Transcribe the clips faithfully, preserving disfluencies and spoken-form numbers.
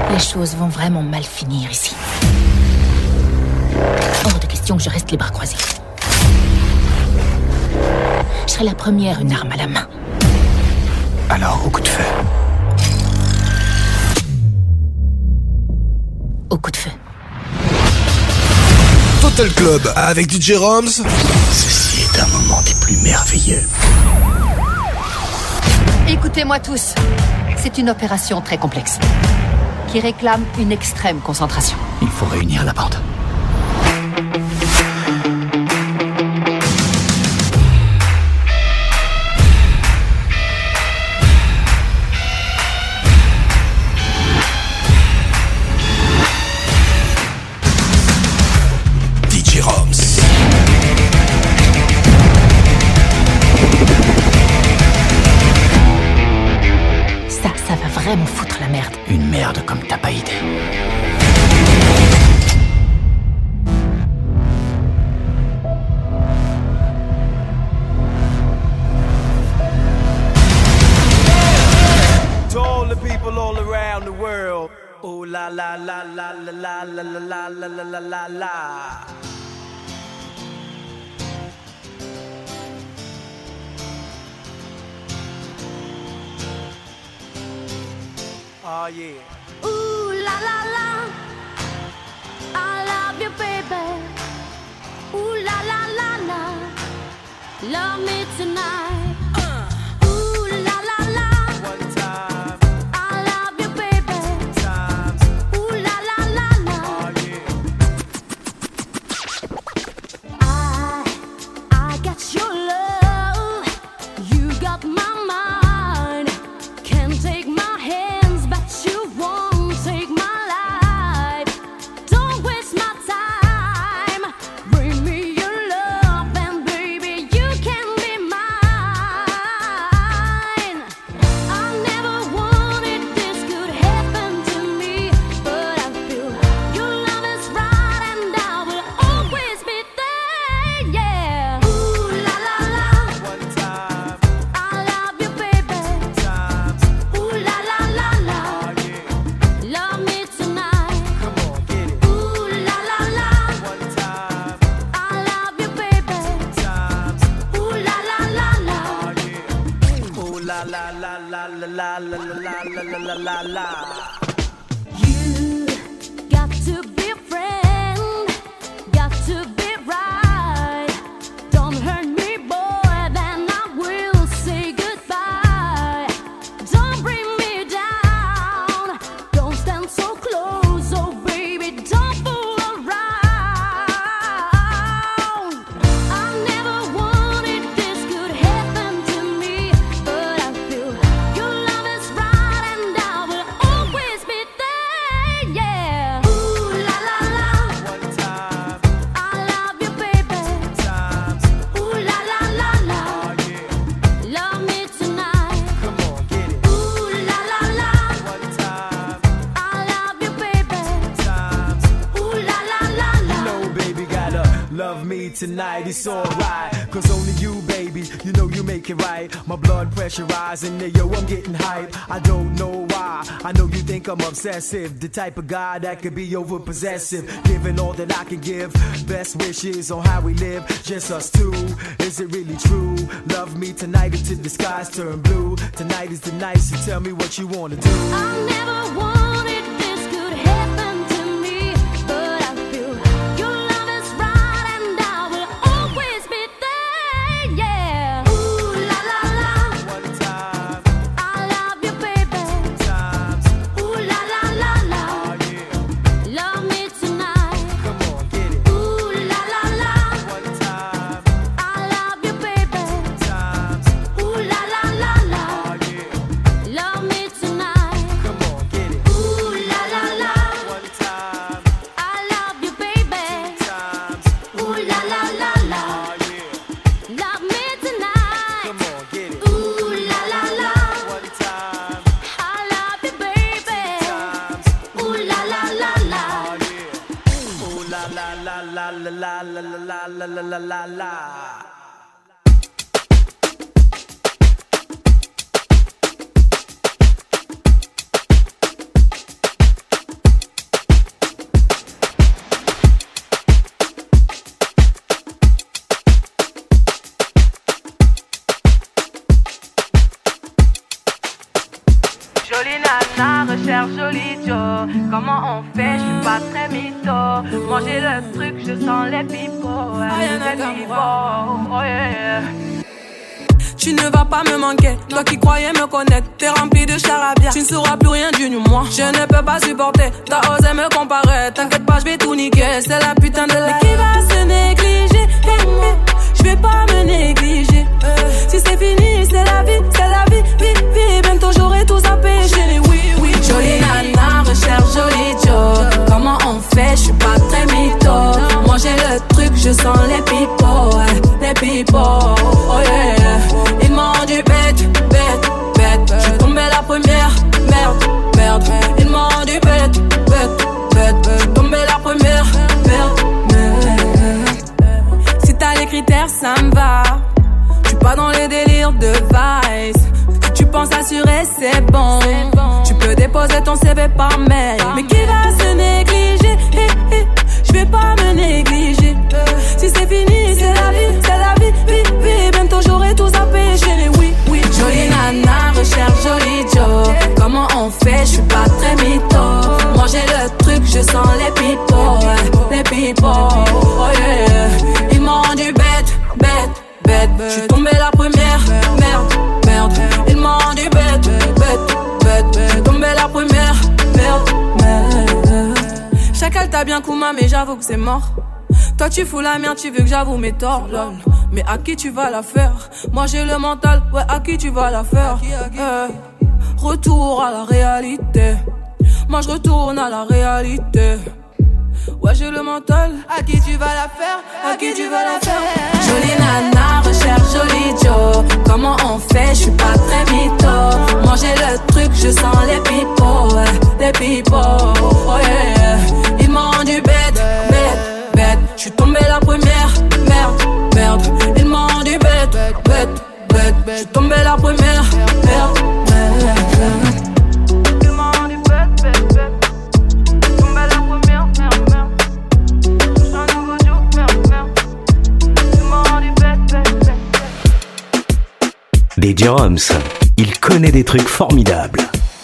Les choses vont vraiment mal finir ici. Hors de question que je reste les bras croisés. Je serai la première, une arme à la main. Alors, au coup de feu. Au coup de feu. Total Club avec D J Roms. Ceci est un moment des plus merveilleux. Écoutez-moi tous. C'est une opération très complexe qui réclame une extrême concentration. Il faut réunir la bande. D J Roms. Ça, ça va vraiment foutre la merde. Une merde comme t'as pas idée. To all the people all around the world. Oh la la la la la la la la la la la la la. Oh yeah. Ooh la la la, I love you, baby. Ooh la la la la, love me tonight. Ooh la la la, One time, I love you, baby. times. Ooh la la la la, Oh yeah. I I got your love, you got my mind. Can't take my hands, but you won't take my life. Don't waste my time. Bring me your love, and baby, you can be mine. I never wanted this could happen to me, but I feel your love is right, and I will always be there. Yeah. Ooh la la la, One time, I love you, baby. times. Ooh la la la la, Oh yeah. love me tonight. Come on, get it. Ooh la la la, One time, I love you, baby. times. Ooh la la la la, Oh yeah. Oh la la la la la la la la la la la la la. you got to be a friend, got to be right. Don't hurt me, boy, then I will say goodbye. Don't bring me down, don't stand so close, oh baby, don't fool around. I never wanted this could happen to me, but I feel your love is right, and I will always be there. Yeah. Ooh la la la, One time, I love you, baby. times. Ooh la la la la, Oh yeah. love me tonight. Come on, get it. Ooh la la la, One time, I love you, baby. times. Ooh la la la la. No, baby, gotta love me tonight. It's alright, cause only you, baby, you know you make it right. My blood pressure rising, yeah, yo, I'm getting hype. I don't know why, I know you think I'm obsessive, the type of guy that could be over possessive, giving all that I can give. Best wishes on how we live, just us two. Is it really true? Love me tonight until the skies turn blue. Tonight is the night, so tell me what you wanna do. I never wanted this could happen to me, but I feel your love is right, and I will always be there. Yeah. Ooh la la la, One time, I love you, baby. times. Ooh la la la la, Oh yeah. love me tonight. Come on, get it. Ooh la la la, One time, I love you, baby. times. Ooh la la la la, Oh yeah. love me tonight. Come on, get it. Ooh la la la, One time, I love you, baby. times. Ooh la la la la, Oh yeah. love me tonight. Come on, get it. Ooh la la la, One time, I love you, baby. times. Ooh la la la la, Oh yeah. Oh la la la la la la la la la la la la la. Jolie nana, recherche joli Joe. Comment on fait, je suis pas très mytho. Manger le truc, je sens les pipeaux. Les pipeaux, oh yeah. Tu ne vas pas me manquer, toi qui croyais me connaître. T'es rempli de charabia, tu ne sauras plus rien du moi. Je ne peux pas supporter, t'as osé me comparer. T'inquiète pas, je vais tout niquer, c'est la putain de la. Mais qui va se négliger? Hey, hey. Je vais pas me négliger. Si c'est fini, c'est la vie, c'est la vie, vie, vie. Bientôt j'aurai tout zappé, chérie, oui, oui. Jolie nana, recherche joli Joe. Comment on fait, je suis pas très mytho. Manger le truc, je sens les pipeaux, les pipeaux, oh yeah. Ils m'ont rendu bête, bête, bête. Je suis tombée la première, merde, merde. Ils m'ont rendu bête, bête, bête. Je suis tombée la première, merde, merde. Si t'as les critères, ça me va. Je suis pas dans les délires de Vice. Si tu penses assurer, c'est bon. Tu peux déposer ton C V par mail. Mais qui va se négliger? Hey, hey. Je vais pas me négliger. Si c'est fini, c'est la vie, c'est la vie, vie, vie. Bientôt j'aurai tout zappé, chérie, oui, oui. Jolie nana, recherche joli Joe. Comment on fait, je suis pas très mytho. Manger le truc, je sens les pipeaux, les pipeaux, oh yeah. Ils m'ont rendu bête, bête, bête. Je suis tombée la première, merde, merde. Ils m'ont rendu bête, bête, bête. Je suis tombée la première, merde, merde. Chacal t'a bien Kouma, mais j'avoue que c'est mort. Toi tu fous la merde, tu veux que j'avoue mes torts, lol. Mais à qui tu vas la faire? Moi j'ai le mental, ouais, à qui tu vas la faire? euh, Retour à la réalité. Moi je retourne à la réalité. Ouais j'ai le mental, à qui tu vas la faire? À qui tu vas la faire? Jolie nana, recherche joli Joe. Comment on fait, je suis pas très mytho. Manger le truc, je sens les pipeaux, les pipeaux, oh yeah. Ils m'ont rendu bête, bête, bête. Je suis tombée la première, merde, merde. Ils m'ont rendu bête, bête, bête. Je suis tombée la première, merde, merde. Ils m'ont rendu bête, bête, bête. Je suis tombée la première, merde, merde. Je suis un nouveau jour, merde, merde. Ils m'ont rendu bête, bête, bête. D J Roms, il connaît des trucs formidables.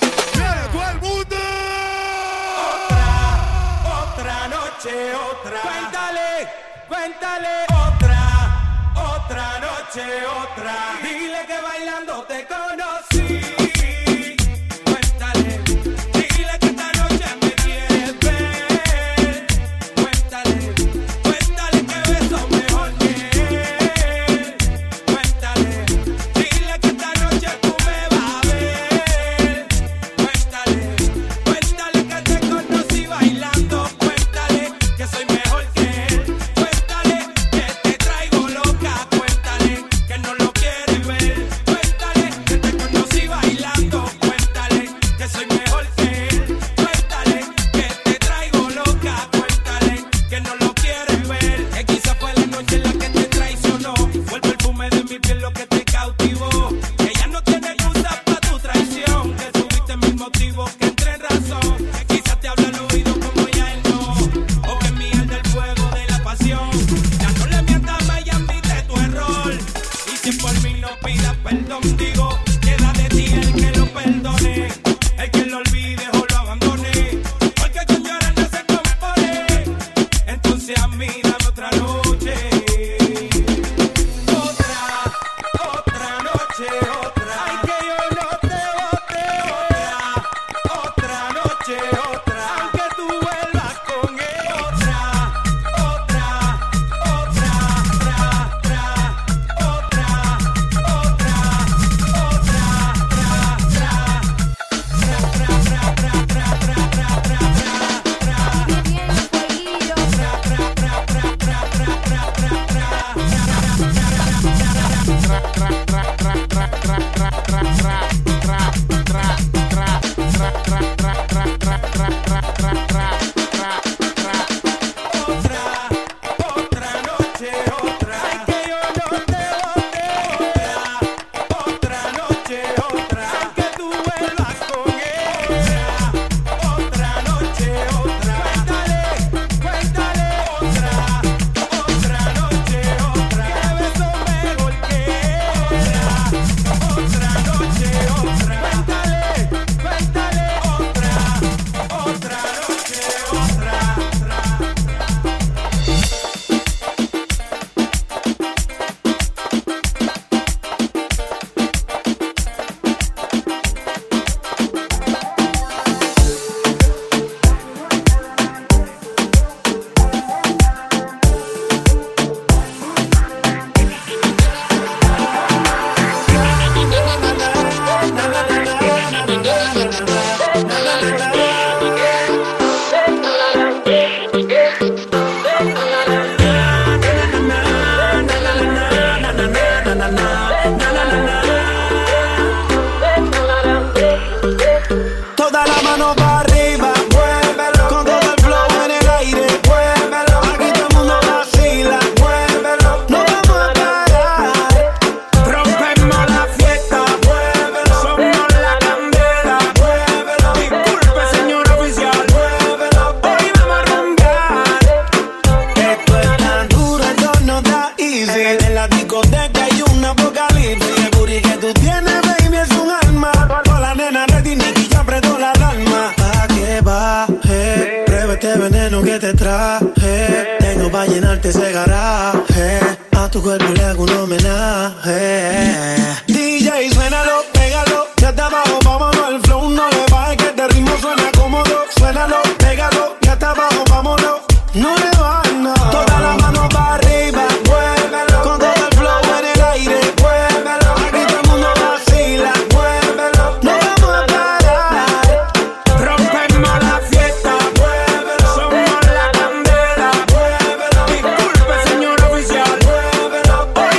Cuéntale otra, otra noche, otra. Dile que bailando te conocí. Cuéntale, dile que esta noche me quieres ver. Cuéntale, cuéntale que beso mejor que él. Cuéntale, dile que esta noche tú me vas a ver. Cuéntale, cuéntale que te conocí bailando. Cuéntale que soy mejor que él. Cuéntale, Toda la mano para arriba, muévelo. Con todo el flow en el aire, muévelo. Aquí todo el mundo vacila, muévelo. No vamos a parar. Rompemos la fiesta, muévelo. Somos la candela, muévelo. Disculpe, señor oficial, muévelo. Hoy vamos a rumbear. Esto es tan duro, esto no da easy. En la discoteca hay un apocalipsis. El booty que tú tienes, baby, es un alma. Con la nena ready, Nicky ya apretó la alarma. ¿A qué baje? Prueba este veneno que te traje. Tengo pa' llenarte ese garaje. A tu cuerpo le hago un homenaje. D J, suénalo, pégalo. Ya está abajo, vámonos. El flow no le baje, que este ritmo suena cómodo. Suénalo, pégalo. Ya está abajo, vámonos. No le bajes, no. Toda la mano para arriba, muévelo. Con todo el flow en el aire, muévelo. Aquí todo el mundo vacila, muévelo. No vamos a parar. Rompemos la fiesta, muévelo. Somos la candela, muévelo. Disculpe, señor oficial, muévelo. Hoy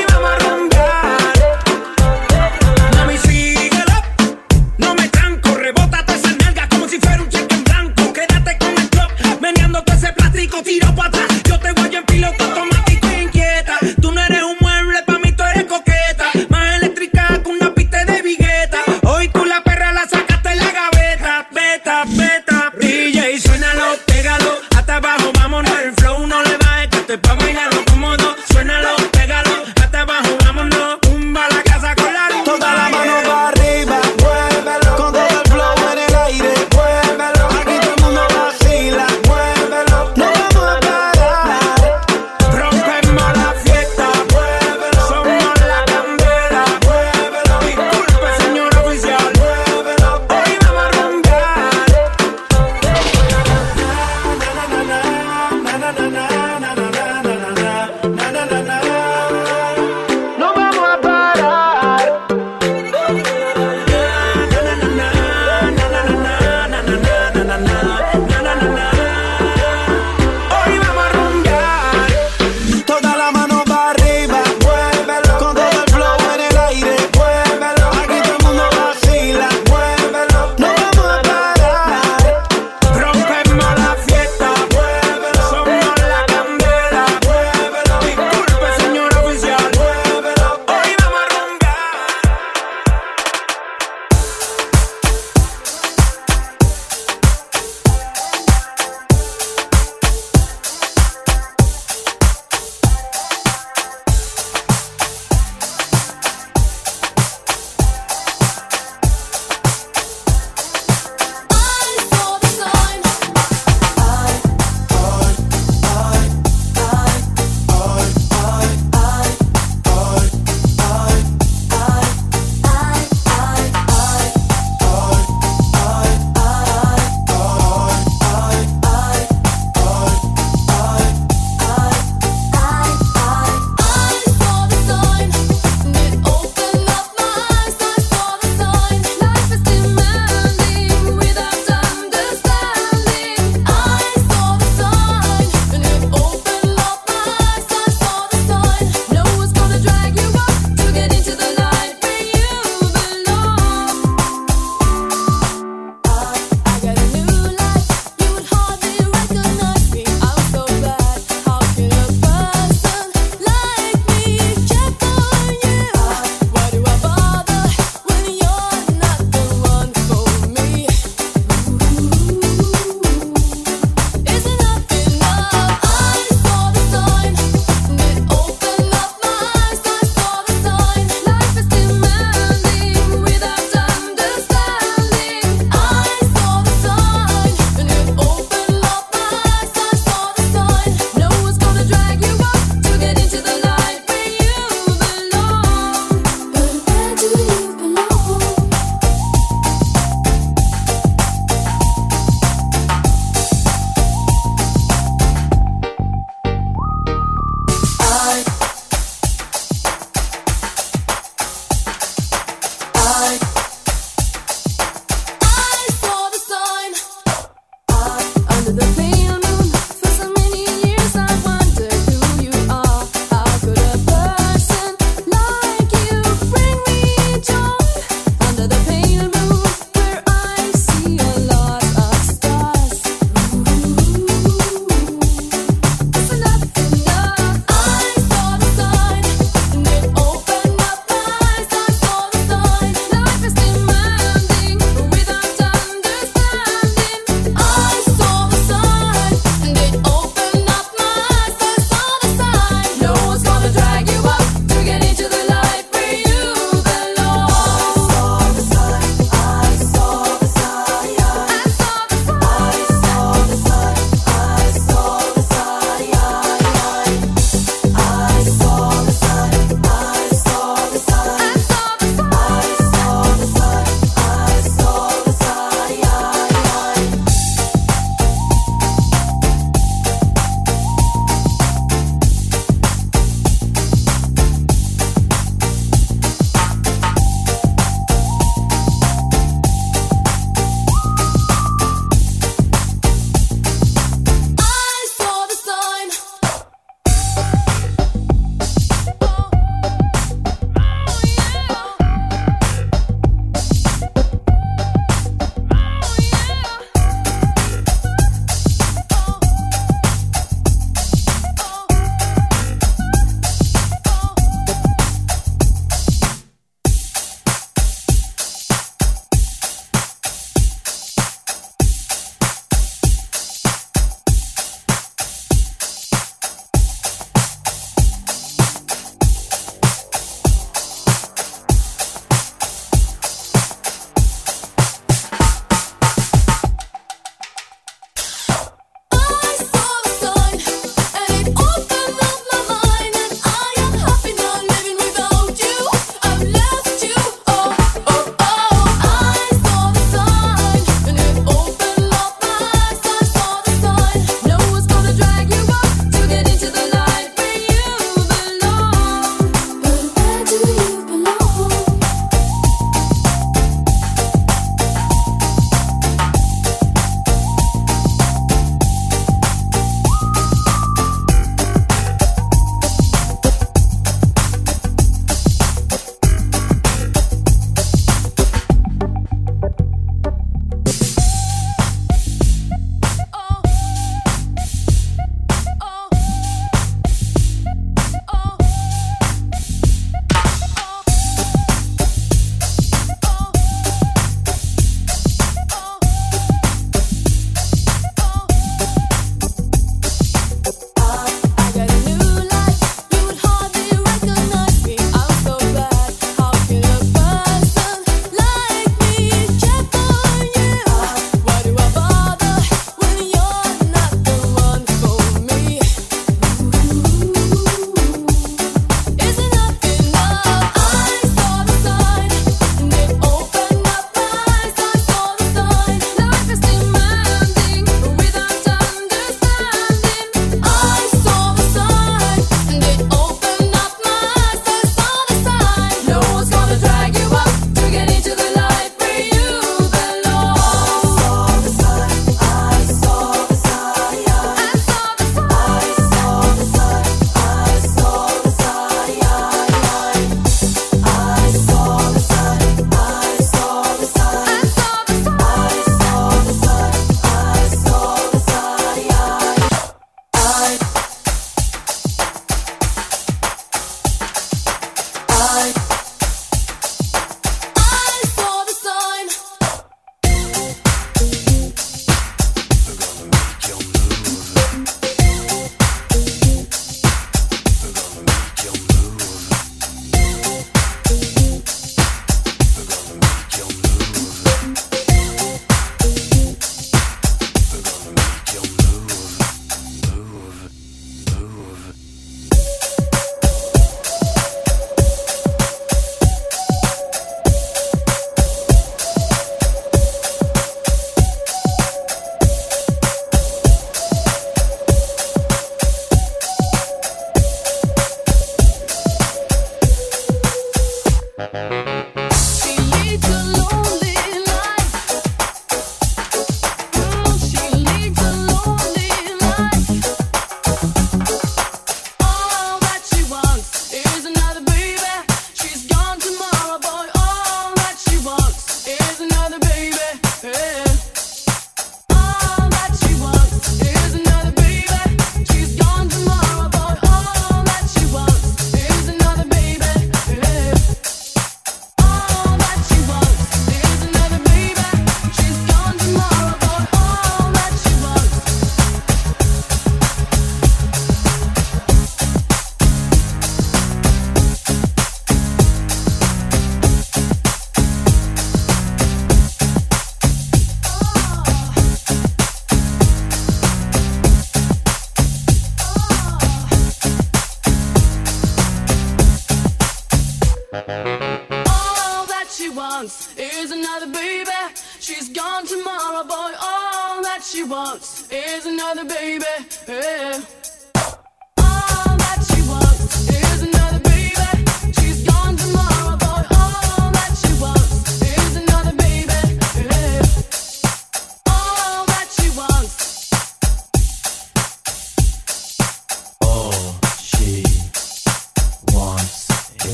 she wants is another baby. Yeah.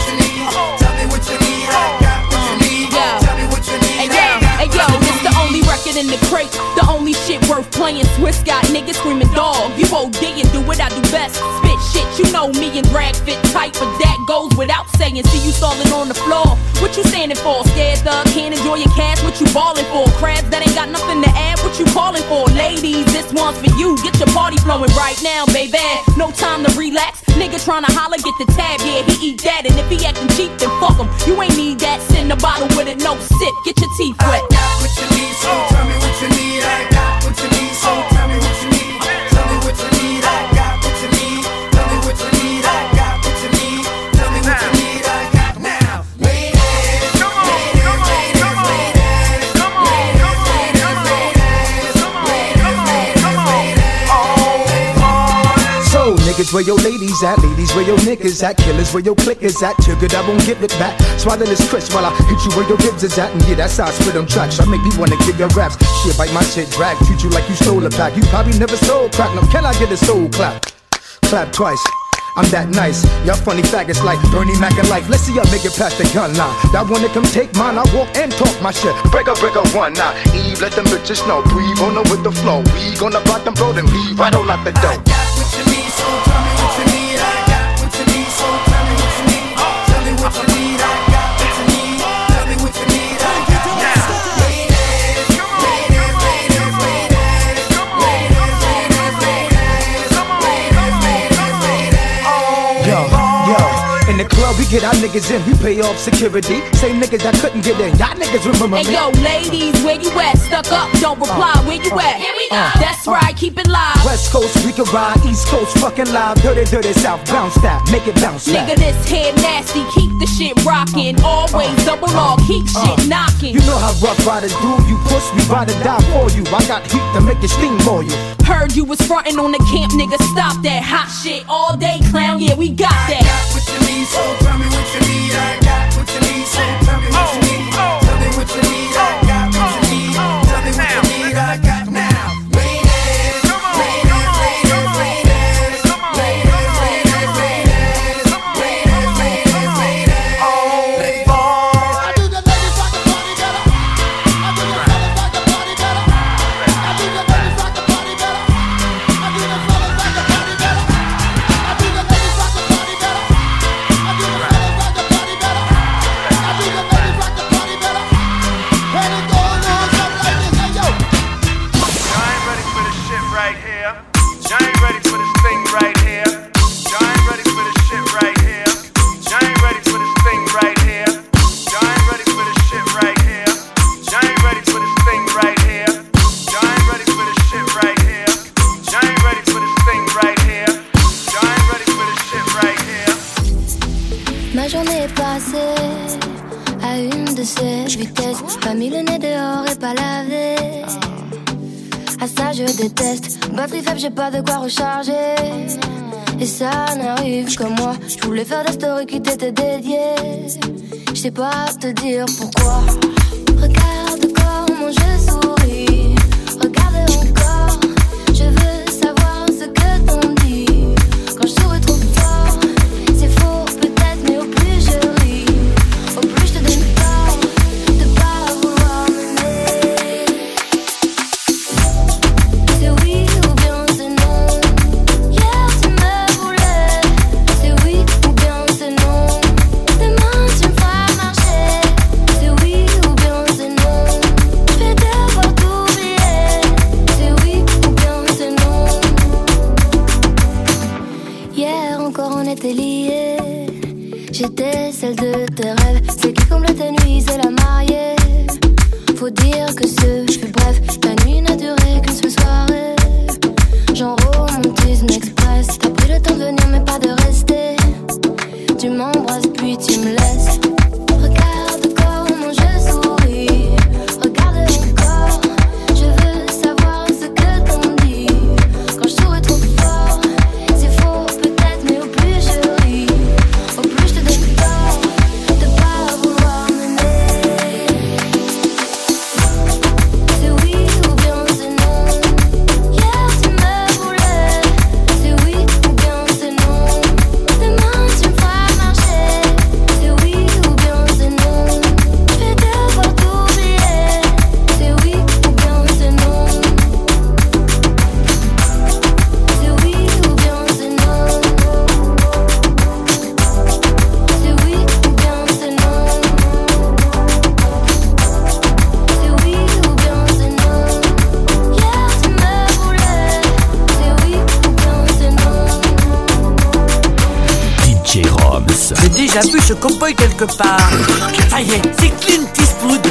Only it in the crate. The only shit worth playing. Swiss got niggas screaming dog. You O D and do what I do best. Spit shit, you know me and drag fit tight, but that goes without saying. See you stalling on the floor. What you standing for? Scared thug, can't enjoy your cash. What you ballin' for? Crabs that ain't got nothing to add. What you calling for? Ladies, this one's for you. Get your party flowing right now, baby. No time to relax. Nigga tryna holler, get the tab. Yeah, he eat that. And if he acting cheap, then fuck him. You ain't need that. Send a bottle with it, no sip. Get your teeth wet. I got what you need, so tell me what you need. I got what you need, so tell me what you need. Tell me what you need. I got what you need. Tell me what you need. I got what you need. Tell me what you need. I got now. Ladies, come on, come on, come on, come on, come on, come on. So niggas, where your ladies at? Ladies, where your niggas at? Killers, where your clickers at? Triggered, I won't give it back. Swallow this crisp while I hit you where your ribs is at. And yeah, that's how I spit on tracks. I make me wanna give your raps. Shit, bite my shit, drag. Treat you like you stole a pack. You probably never sold crack. Now can I get a soul clap? Clap twice. I'm that nice. Y'all funny faggots like Bernie Mac and life. Let's see y'all make it past the gun line. That one that come take mine, I walk and talk my shit. Break up, break up one now. Eve, let them bitches know. Breathe on them with the flow. We gonna bottom road and leave right on out the door. I got what you need, so tell me what you need. I got what you need, so tell me what you need. Tell me what you need. I got what you need. Tell me what you need. I got now. Ladies, ladies, ladies, ladies, ladies, ladies, ladies, ladies, ladies. Yo, yo, in the club we get our niggas in, we pay off security. Same niggas that couldn't get in, y'all niggas remember Hey me. yo, ladies, where you at? Stuck up, don't reply, where you at? Here we go. That's right, keep it live. West Coast, we can ride, East Coast, fucking live. Dirty, dirty South, bounce that, make it bounce back. Nigga, this head nasty, keep the shit rockin'. Always double R, keep shit knockin'. You know how rough riders do, you push, we ride or die for you. I got heat to make it steam for you. Heard you was frontin' on the camp, nigga, stop that hot shit all day, clown, yeah, we got I that. got what you need, so tell me what you need. I got what you need, so tell me what you need. Tell me what you need. I got what you need. Tell me what you need. I got now. Ladies, ladies, ladies, ladies, ladies, ladies, ladies, ladies, ladies, ladies. Oh, ladies. I do the ladies rock the party better. I do the fellas rock the party better. I do the ladies rock the party better. I do the fellas rock the party better. I do the ladies rock the party better. I do the fellas rock the party better. I do the ladies rock the party better. And it goes on something like this. Hey yo. Y'all ain't ready for this shit right here. Y'all ain't ready for this thing right here. Y'all ain't ready for this shit right here. Y'all ain't ready for this thing right here. Y'all ain't ready for this shit right here. Y'all ain't ready for this thing right here. Y'all ain't ready for this shit right here. Y'all ain't ready for this thing right here. Y'all ain't ready for this shit right here. Ma journée est passée à une de ces vitesses. Pas mis le nez dehors et pas lavé. À ça je déteste. Batterie faible, j'ai pas de quoi recharger. Et ça n'arrive que moi. Je voulais faire des stories qui t'étaient dédiées. Je sais pas te dire pourquoi. Regarde comment je souris. Regarde encore. Je veux savoir ce que t'en dis. Quand je souris trop fort, c'est faux peut-être, mais au plus je ris, au plus je te donne tort de pas vouloir m'aimer. C'est oui ou bien c'est non. Hier tu me voulais. C'est oui ou bien c'est non. Demain tu me feras marcher. C'est oui ou bien c'est non. Je vais devoir t'oublier. C'est oui ou bien c'est non. Hier encore on était liés. J'étais celle de tes rêves. Celle qui comble tes nuits, c'est la mariée. Faut dire que ce fut bref. La nuit n'a duré qu'une seule soirée. Genre romantisme express. T'as pris le temps de venir mais pas de rester. Tu m'embrasses puis tu me laisses. Regarde comment je souris. Regarde encore. Je veux savoir ce que t'en dis. Quand je souris trop fort, c'est faux peut-être, mais au plus je ris, au plus je te donne tort de pas vouloir m'aimer. a vu ce cowboy quelque part. Ça y est, c'est Clint Eastwood.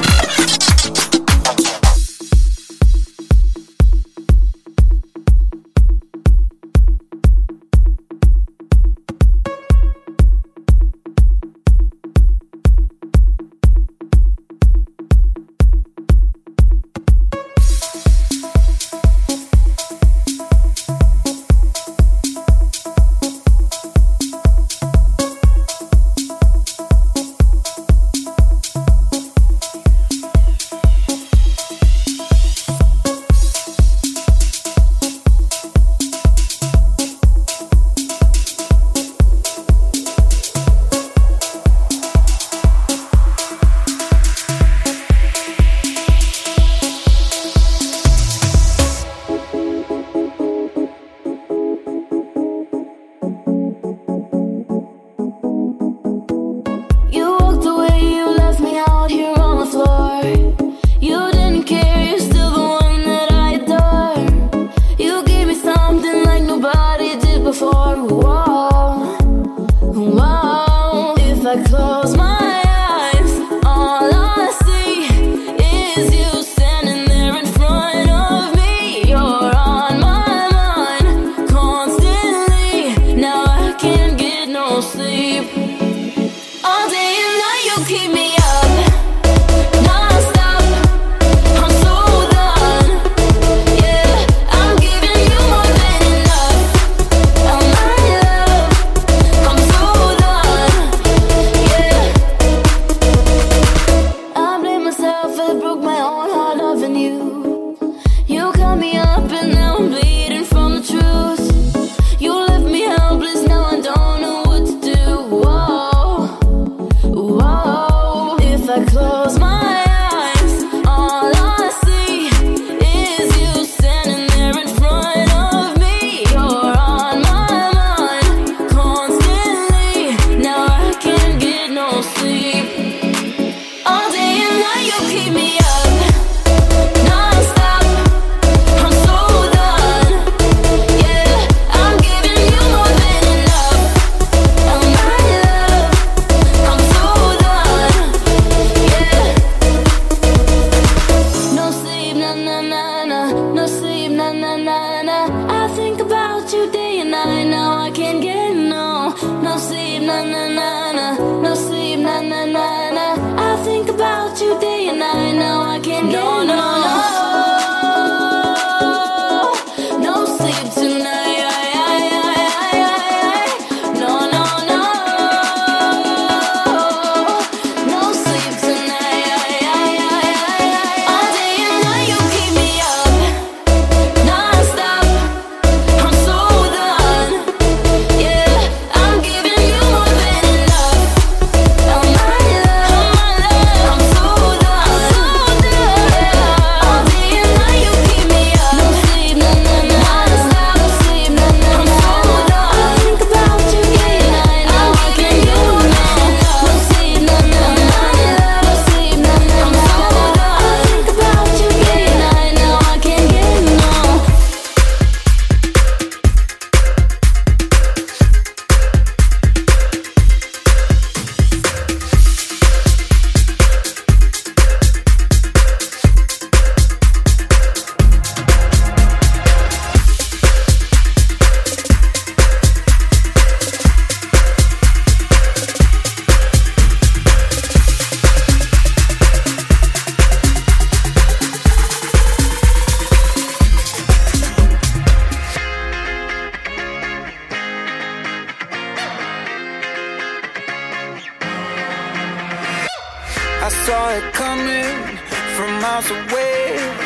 saw it coming from miles away.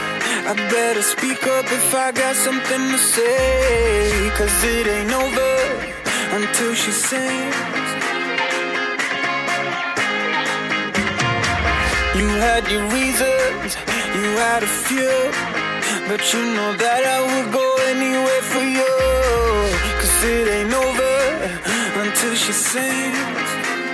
I better speak up if I got something to say, 'cause it ain't over until she sings. You had your reasons, you had a few, but you know that I would go anywhere for you, 'cause it ain't over until she sings.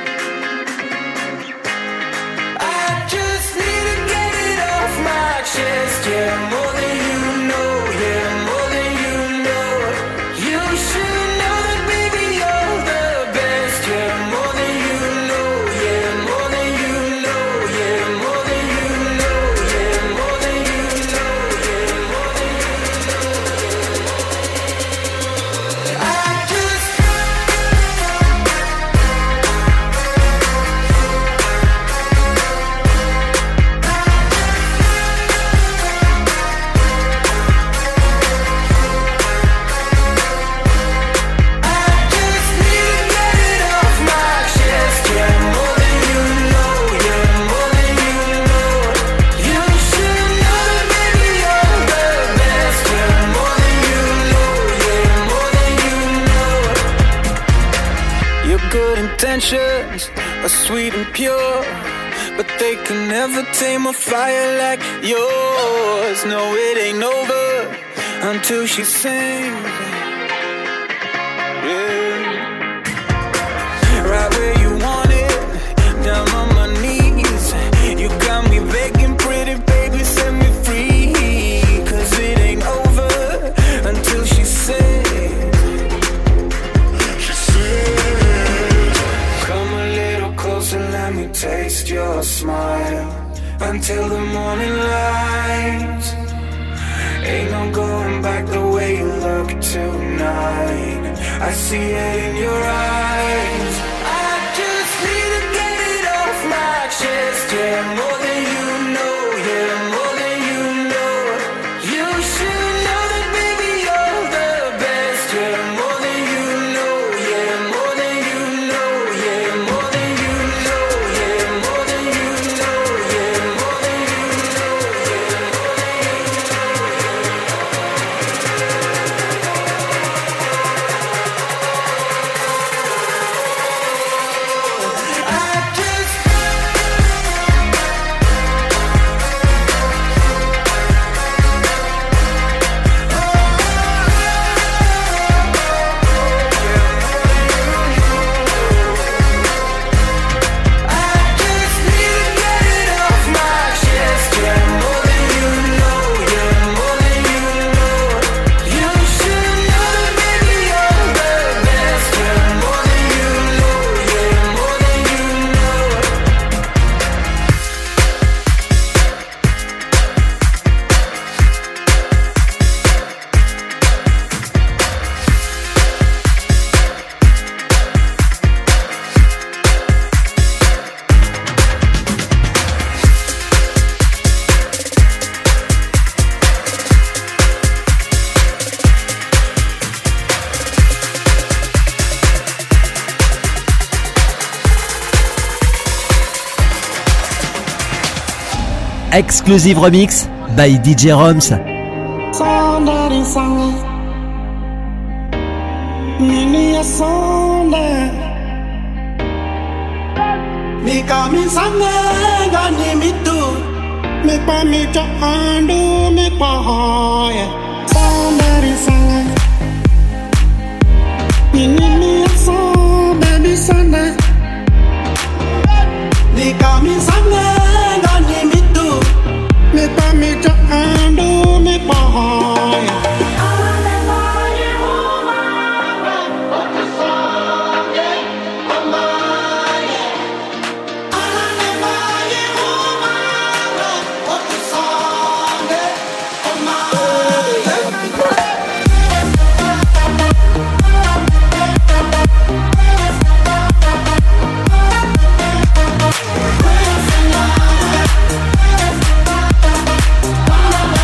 I just need to get it off my chest, yeah, more than you know, yeah, more than you know. You should know that, baby, you're the best, yeah, more than you intentions are sweet and pure, but they can never tame a fire like yours. No, it ain't over until she sings. Yeah. Right where you want it, down on my knees. You got me begging, pretty baby, set me free. Cause it ain't over until she says. She says, come a little closer, let me taste your smile. Until the morning light. Ain't no going back the way you look tonight. I see it in your eyes. I just need to get it off my chest. Yeah, more than you know. Yeah, more than you know. You should know that, baby, you're the best. Yeah, more than you know. Yeah, more than you know. Yeah, more than you know. Yeah, more than you know. Yeah, more than you know. Yeah, more than you know. Exclusive remix by D J Roms. Sondari sang Nini ya sonda Mika mi sange gani mitu Mikpa mi cha andu mikpa hoye Sondari sang Nini ya sonda baby sonda Mika mi sange gani mitu Me pa me cha ando me pa hoya. We'll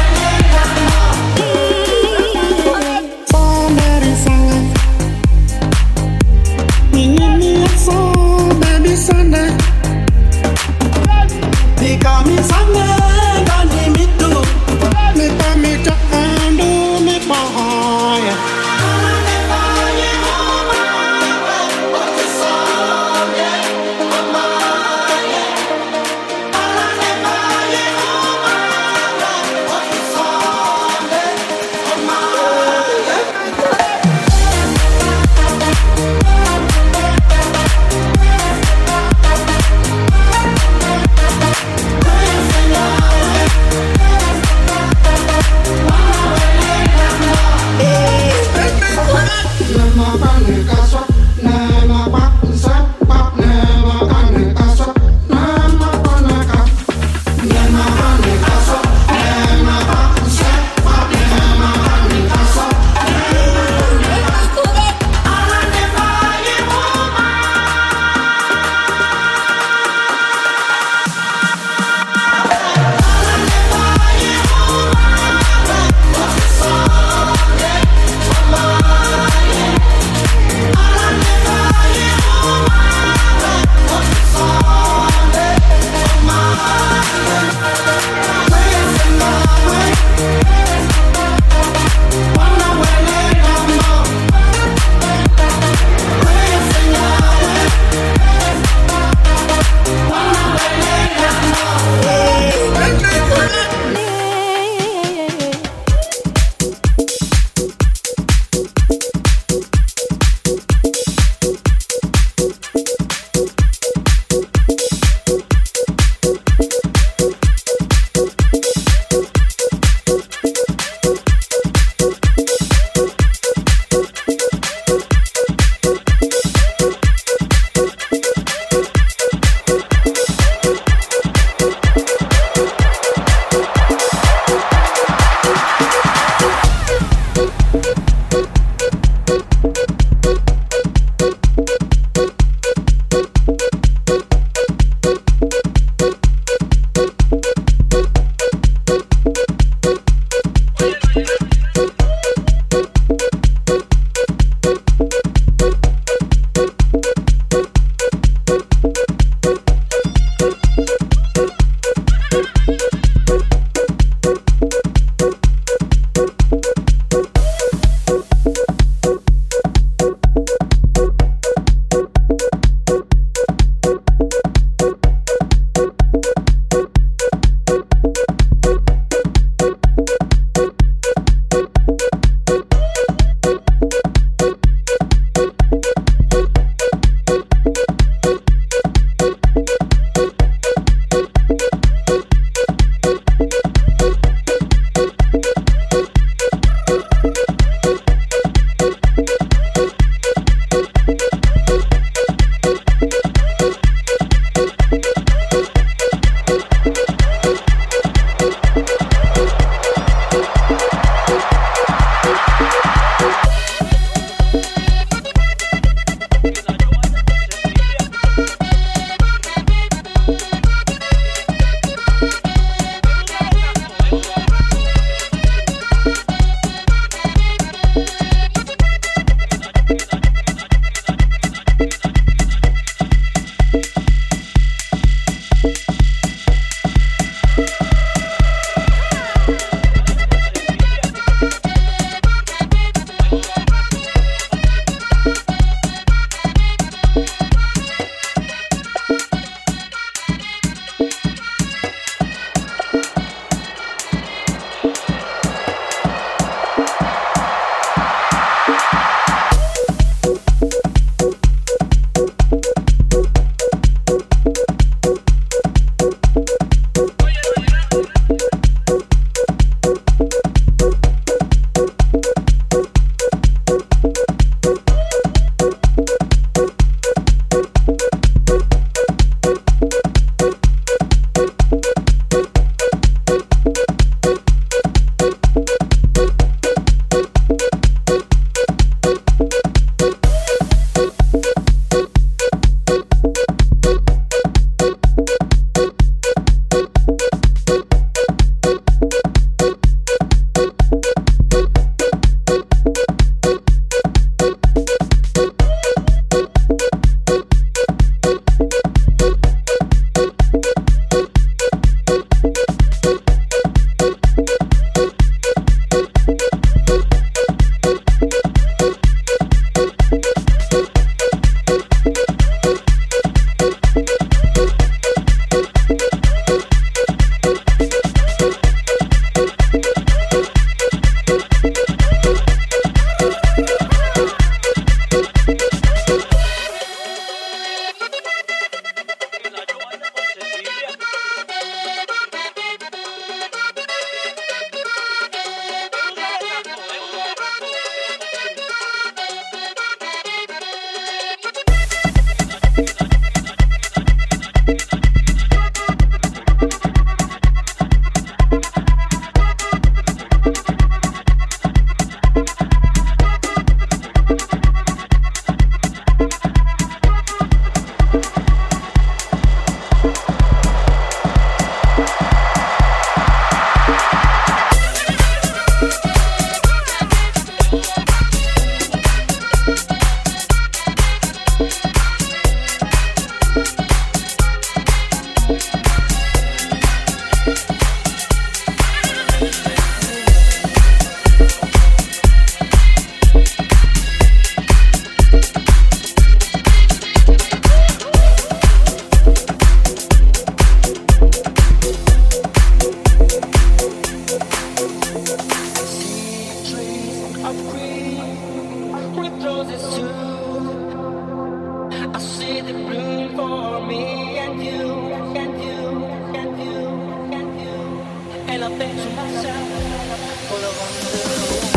think to myself, what a wonderful world.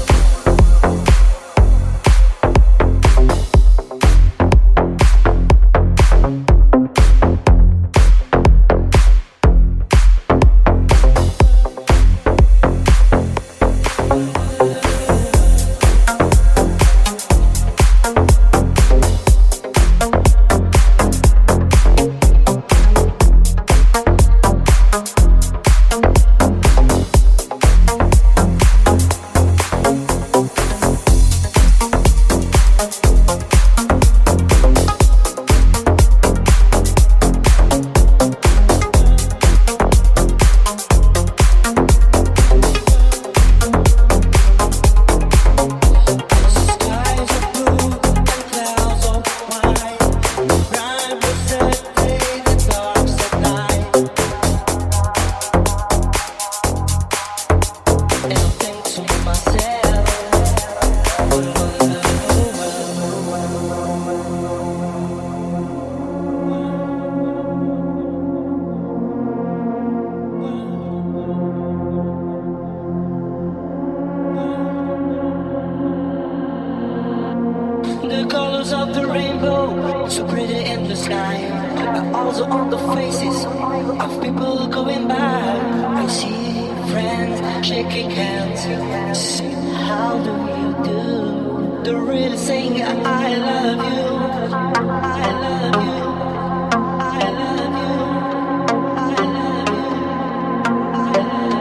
The colors of the rainbow, so pretty in the sky, are also on the faces of people going by. I see friends shaking hands. How do you do? They're really saying I love you, I love you, I love you, I love you, I love you.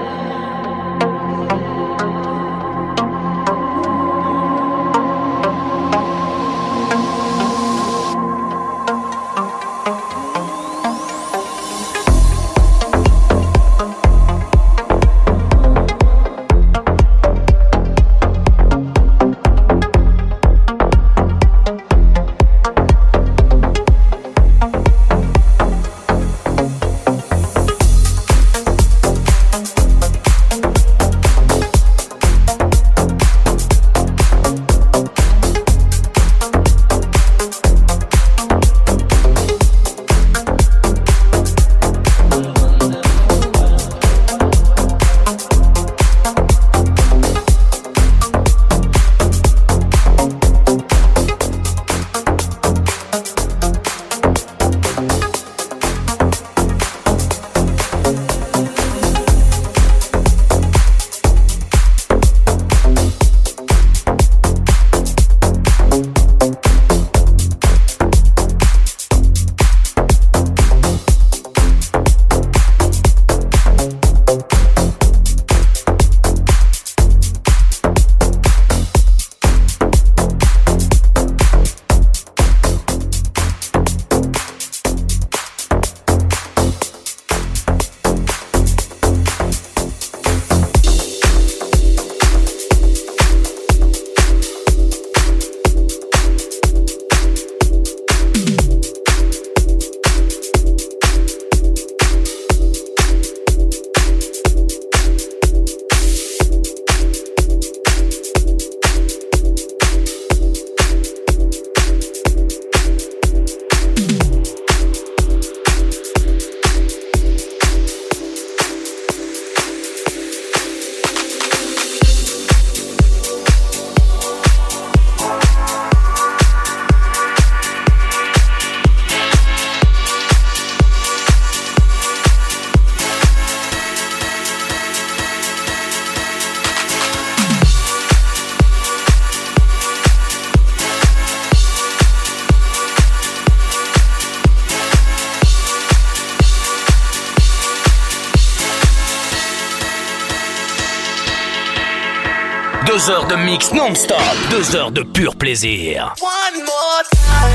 Deux heures de mix non-stop, deux heures de pur plaisir. One more time.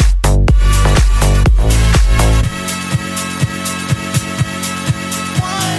One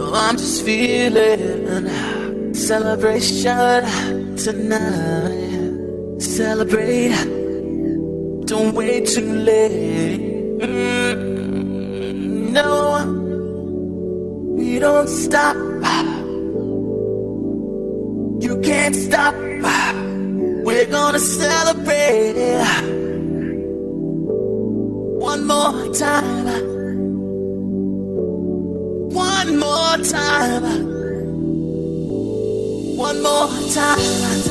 I'm just feeling celebration tonight. Celebrate, don't wait too late. Mm, no, we don't stop. You can't stop. We're gonna celebrate one more time. One more time. One more time.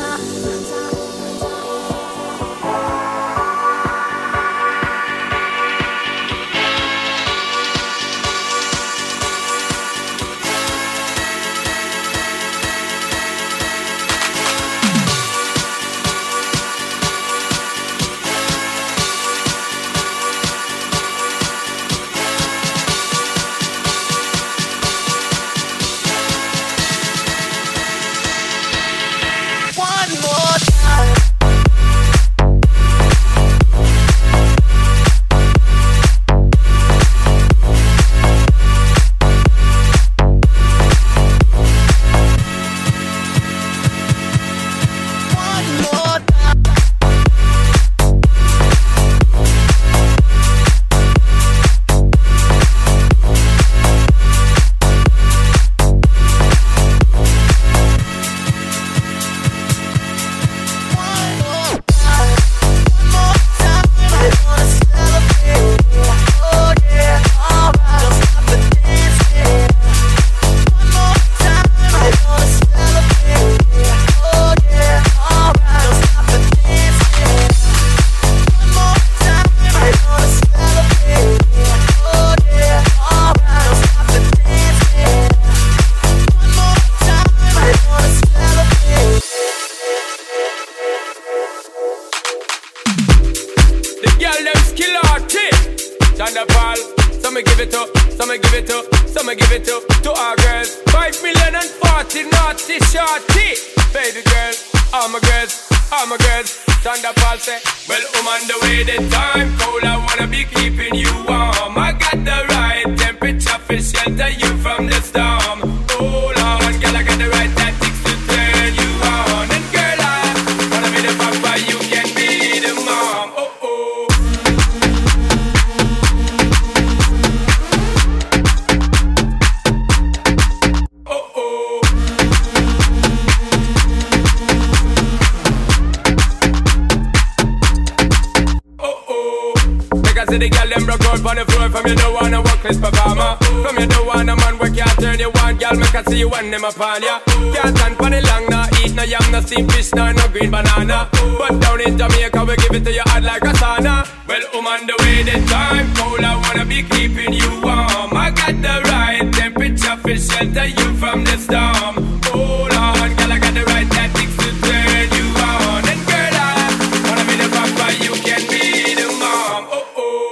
Upon ya. Can't stand for the long, no eat no yam, no steamed fish, no, no green banana. But down in Jamaica, we give it to you hot like a sauna. Well, I'm on the way, the time cold, I wanna be keeping you warm. I got the right temperature for shelter you from the storm. Hold on, girl, I got the right tactics to turn you on. And girl, I wanna be the papa, you can be the mom. Oh, oh.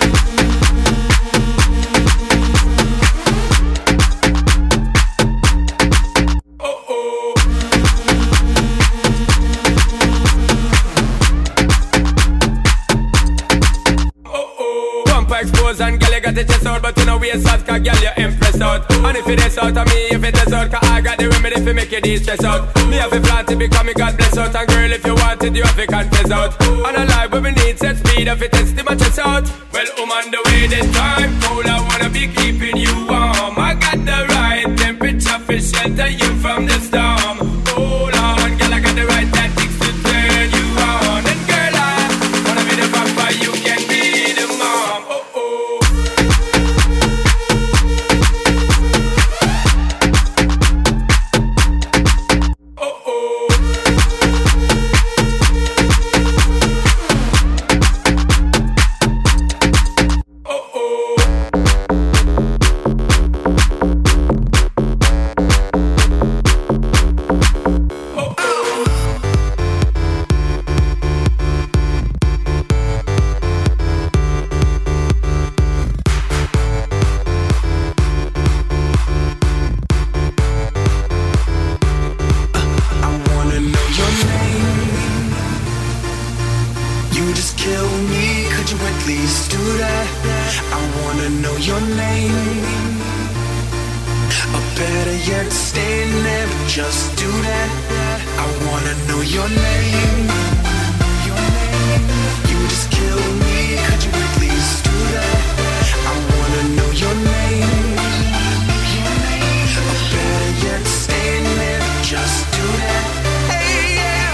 Expose and girl, you got the chest out, but you know we ain't soft, cause girl, you impressed out. And if it is out of me, if it is out, cause I got the remedy for make you de-stress out. Me have a plan to become me God bless out. And girl, if you want it, you have to confess out. And I like when we need set speed, if it is to my chest out. Well, I'm on the way this time, cold, I wanna be keeping you warm. I got the right temperature for shelter you from the storm. Hold on, girl, I got the right tactics to turn you on. And girl, I wanna be the papa, you can be the mom. Oh, oh. Or better yet, stay and never just do that. I wanna know your name. Your name. You just kill me. Could you at least do that? I wanna know your name. Your name. Or better yet, stay and never just do that. Hey, yeah.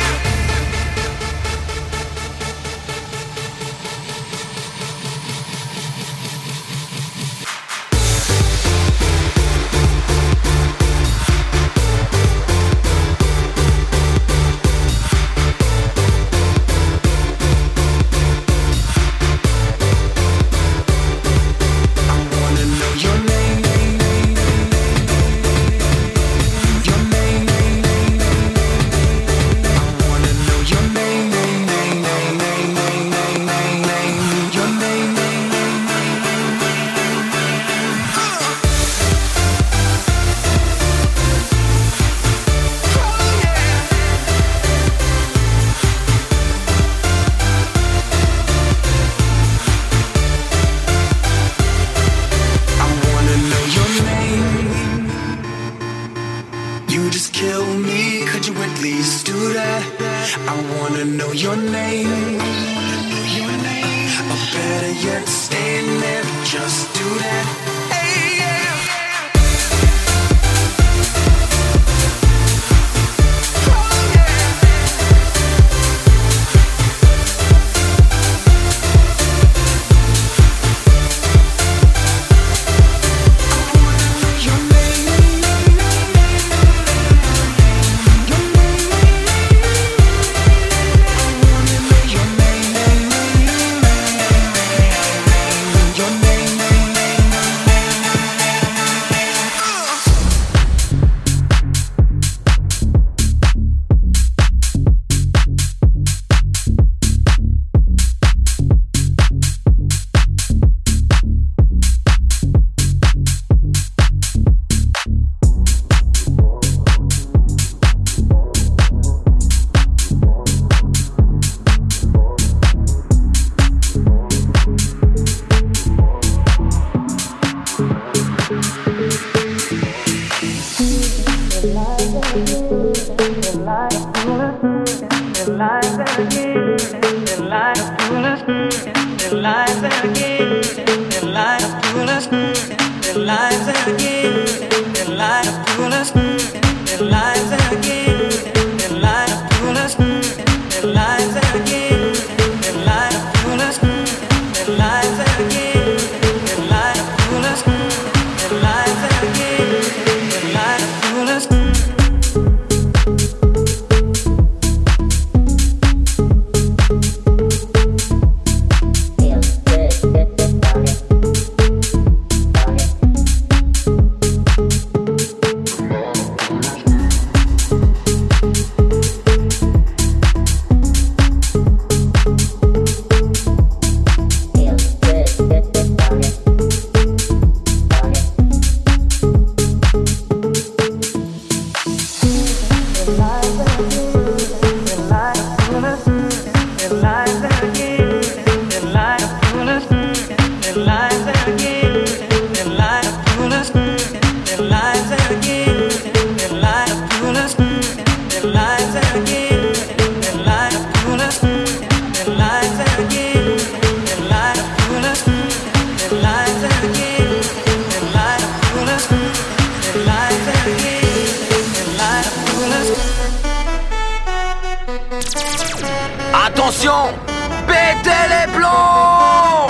Attention, pétez les plombs!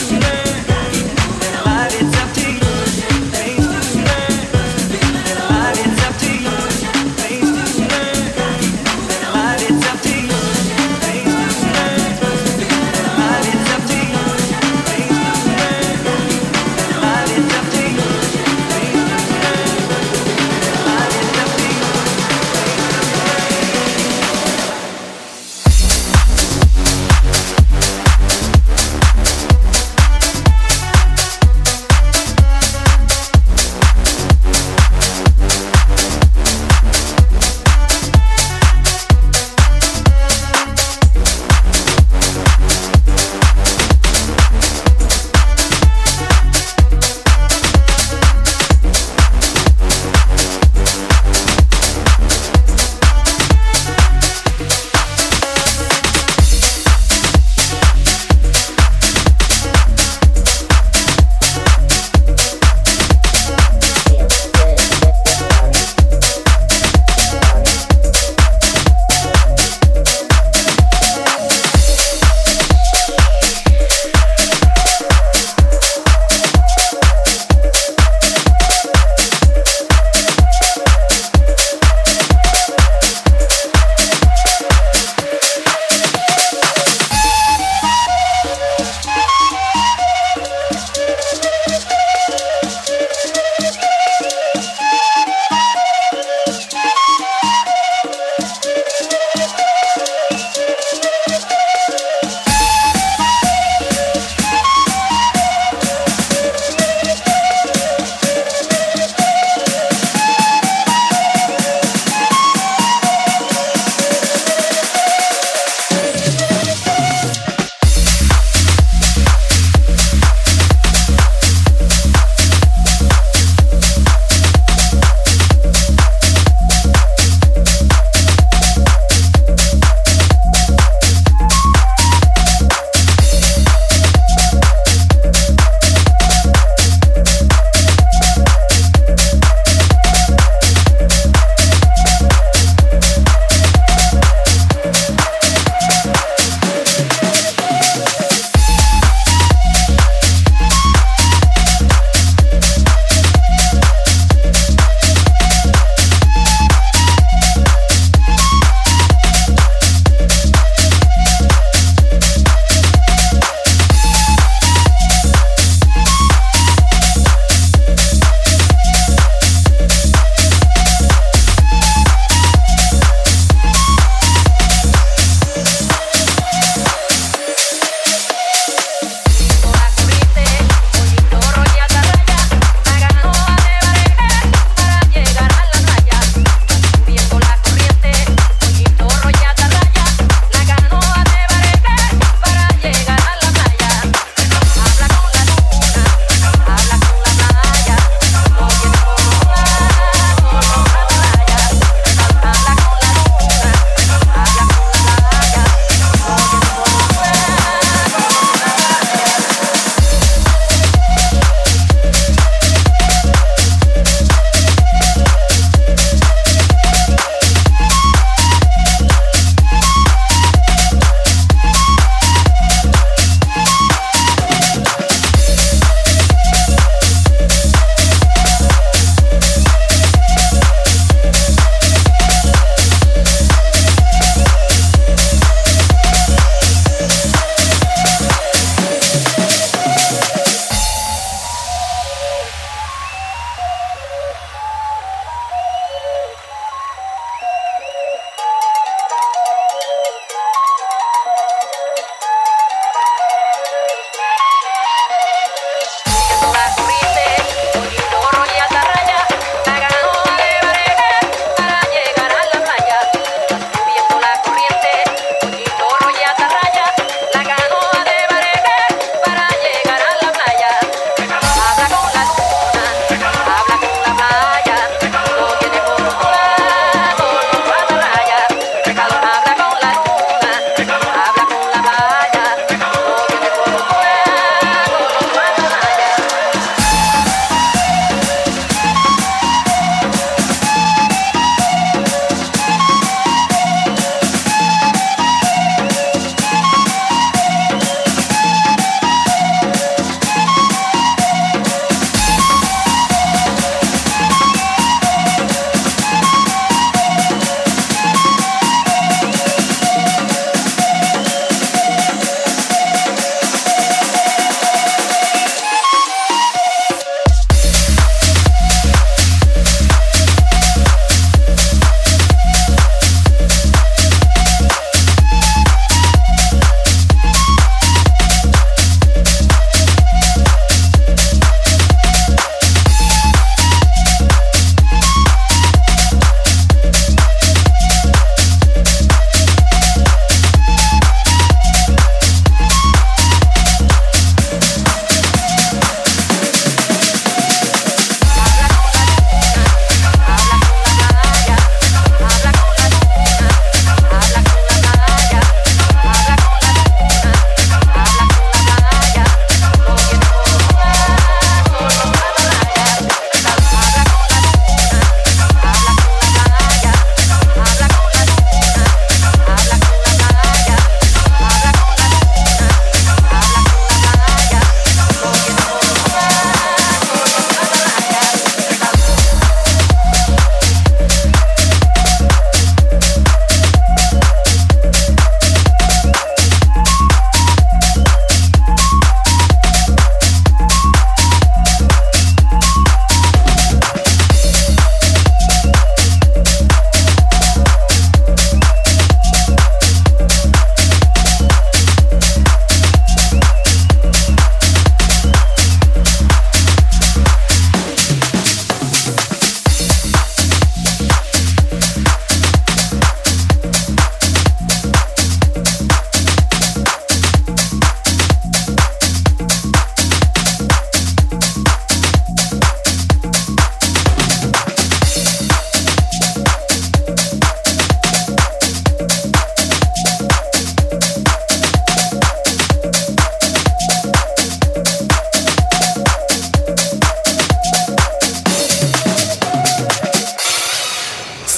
It's up to you.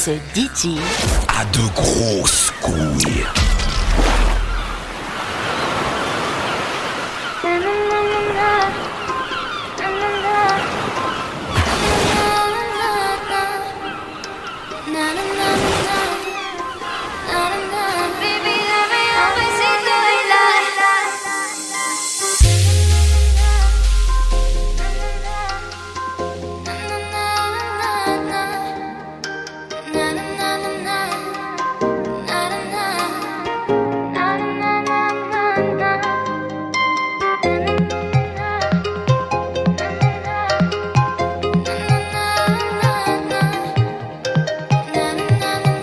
Ce D J a de grosses couilles. Na na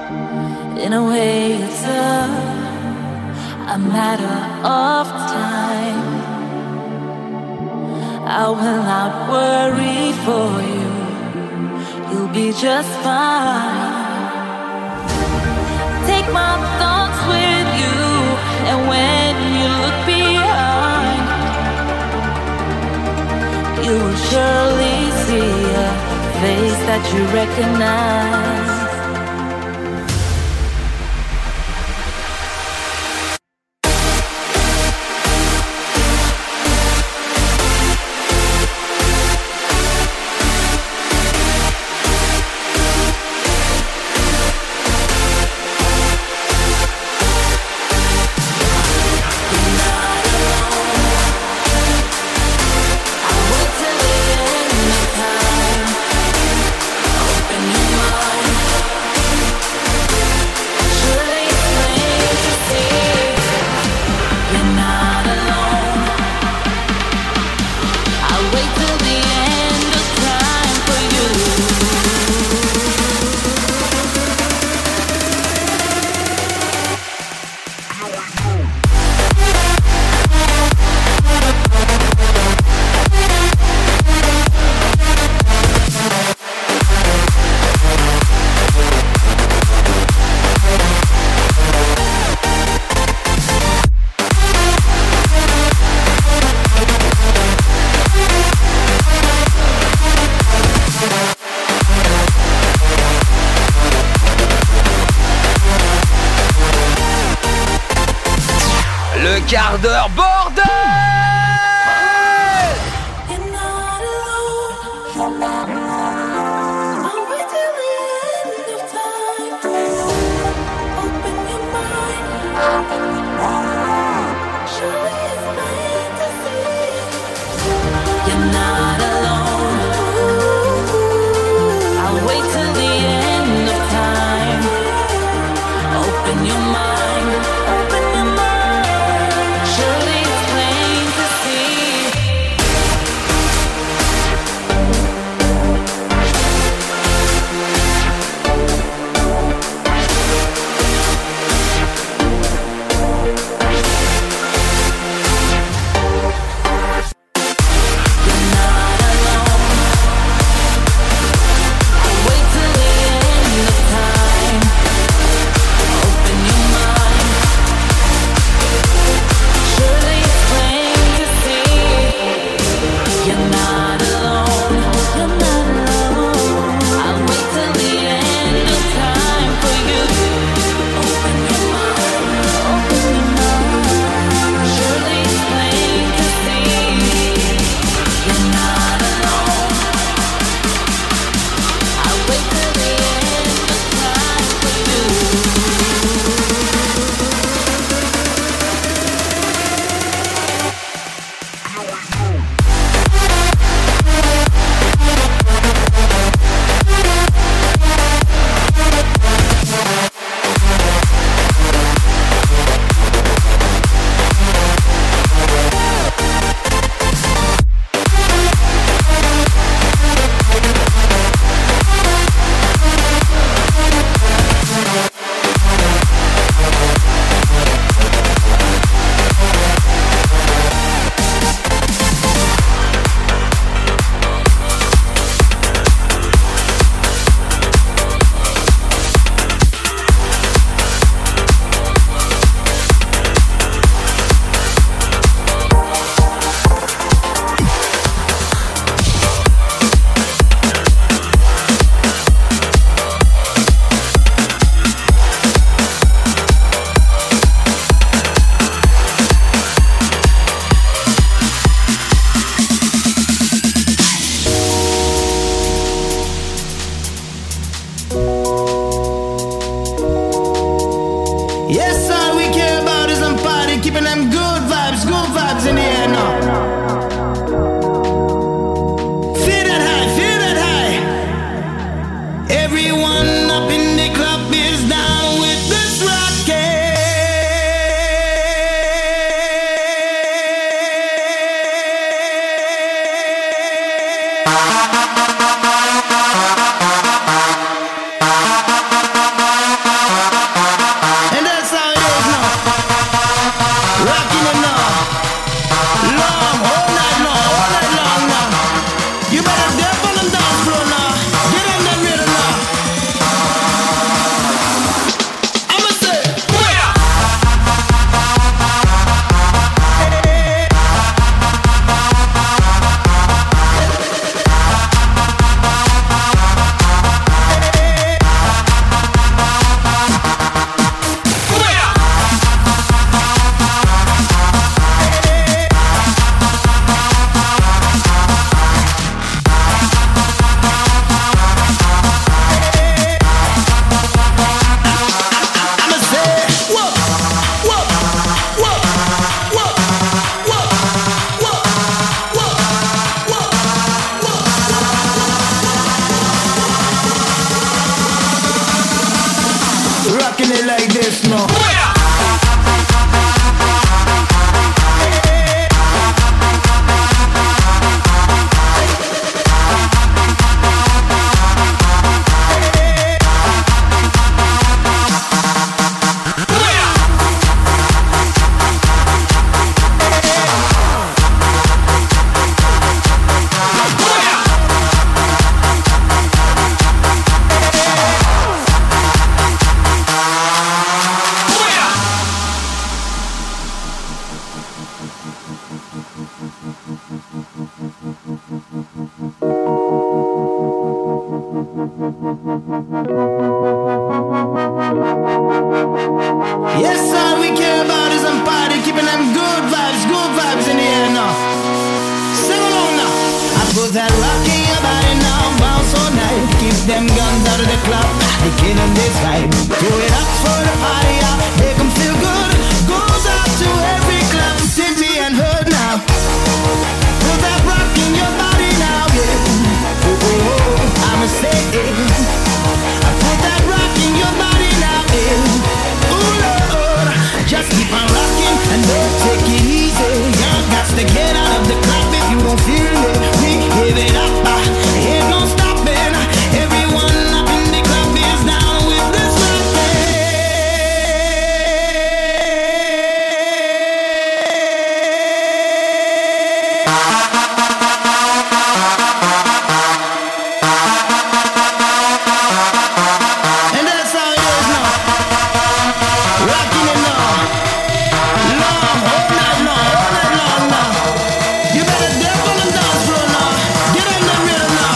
In a way, it's a, a matter of time. I will not worry for you. You'll be just fine. Take my thoughts with you, and when you look behind, you will surely see a face that you recognize. Quart d'heure bordel. rocking it like this, no. Yes, all we care about is some party, keeping them good vibes, good vibes in the air now. Sing along now. I put that rock in your body now, bounce all night. Keep them guns out of the club, they killing this vibe. Do it up for the party, yeah. Make them feel good. Goes out to every club, city and hood now. Put that rock in your body now, yeah. Oh, oh, oh, I'ma say it. I put that rock in your body now, yeah. Just keep on rocking and don't take it easy. You got to get out of the club if you don't feel it. We give it up, uh, ain't no stopping. Everyone up in the club is down with this and that's how it is now. Rocking it now. Long, all night long, all night long now. You better dance on the dance floor now. Get on the rhythm now.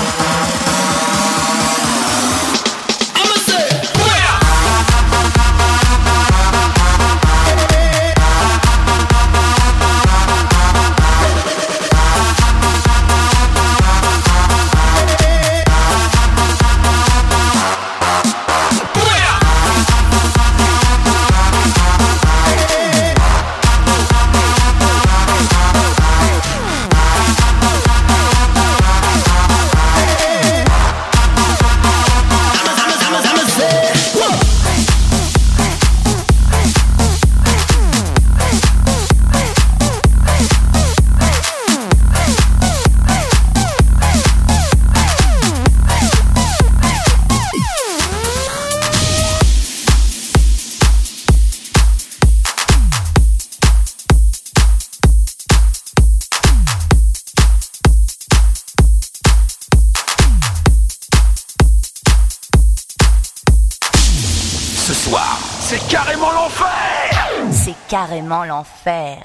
I'ma say, Ce soir, c'est carrément l'enfer. C'est carrément l'enfer.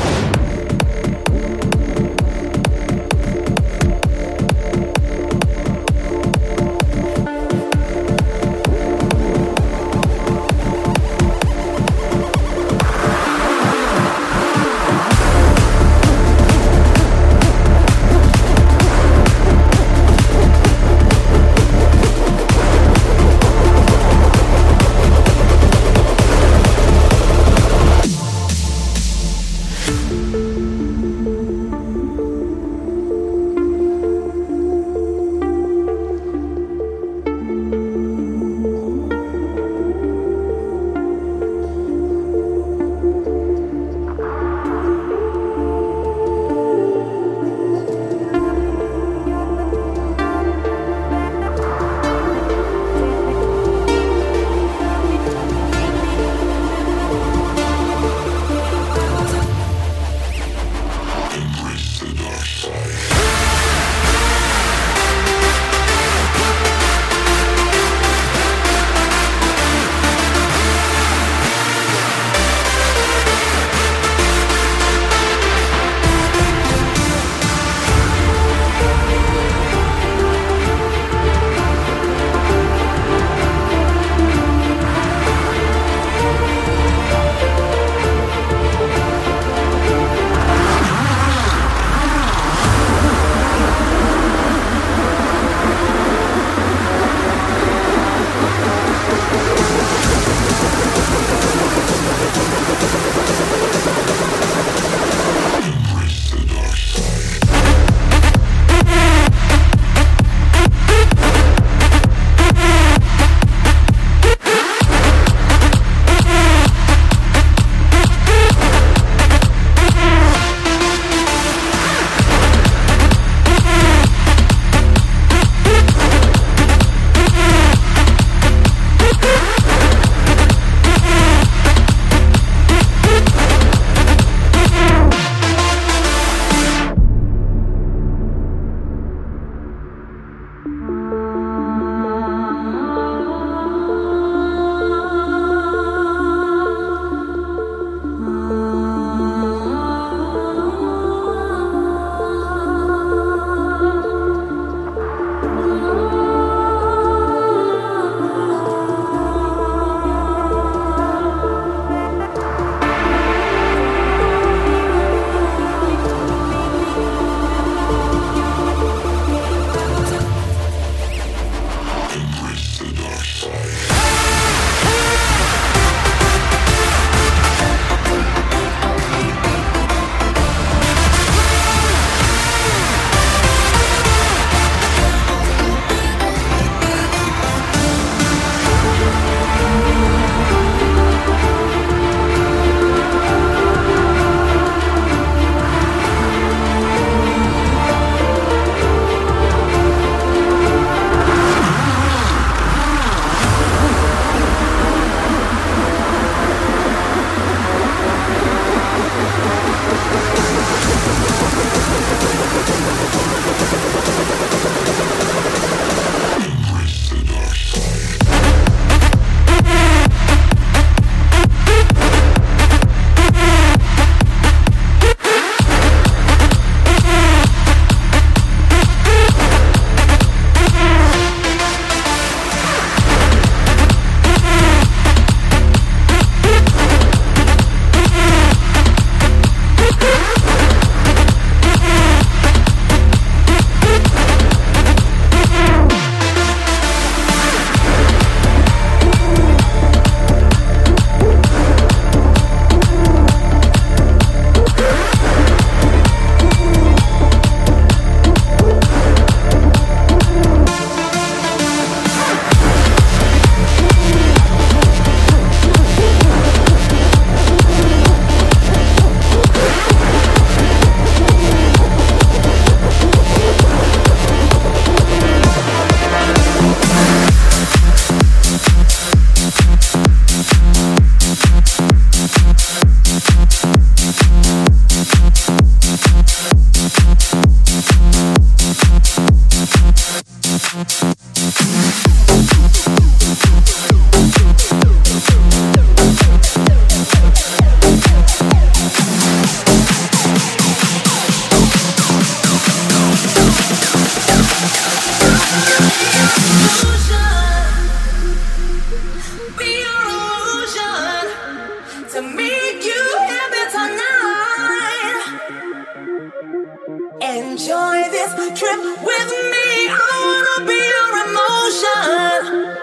Enjoy this trip with me. I wanna be your emotion.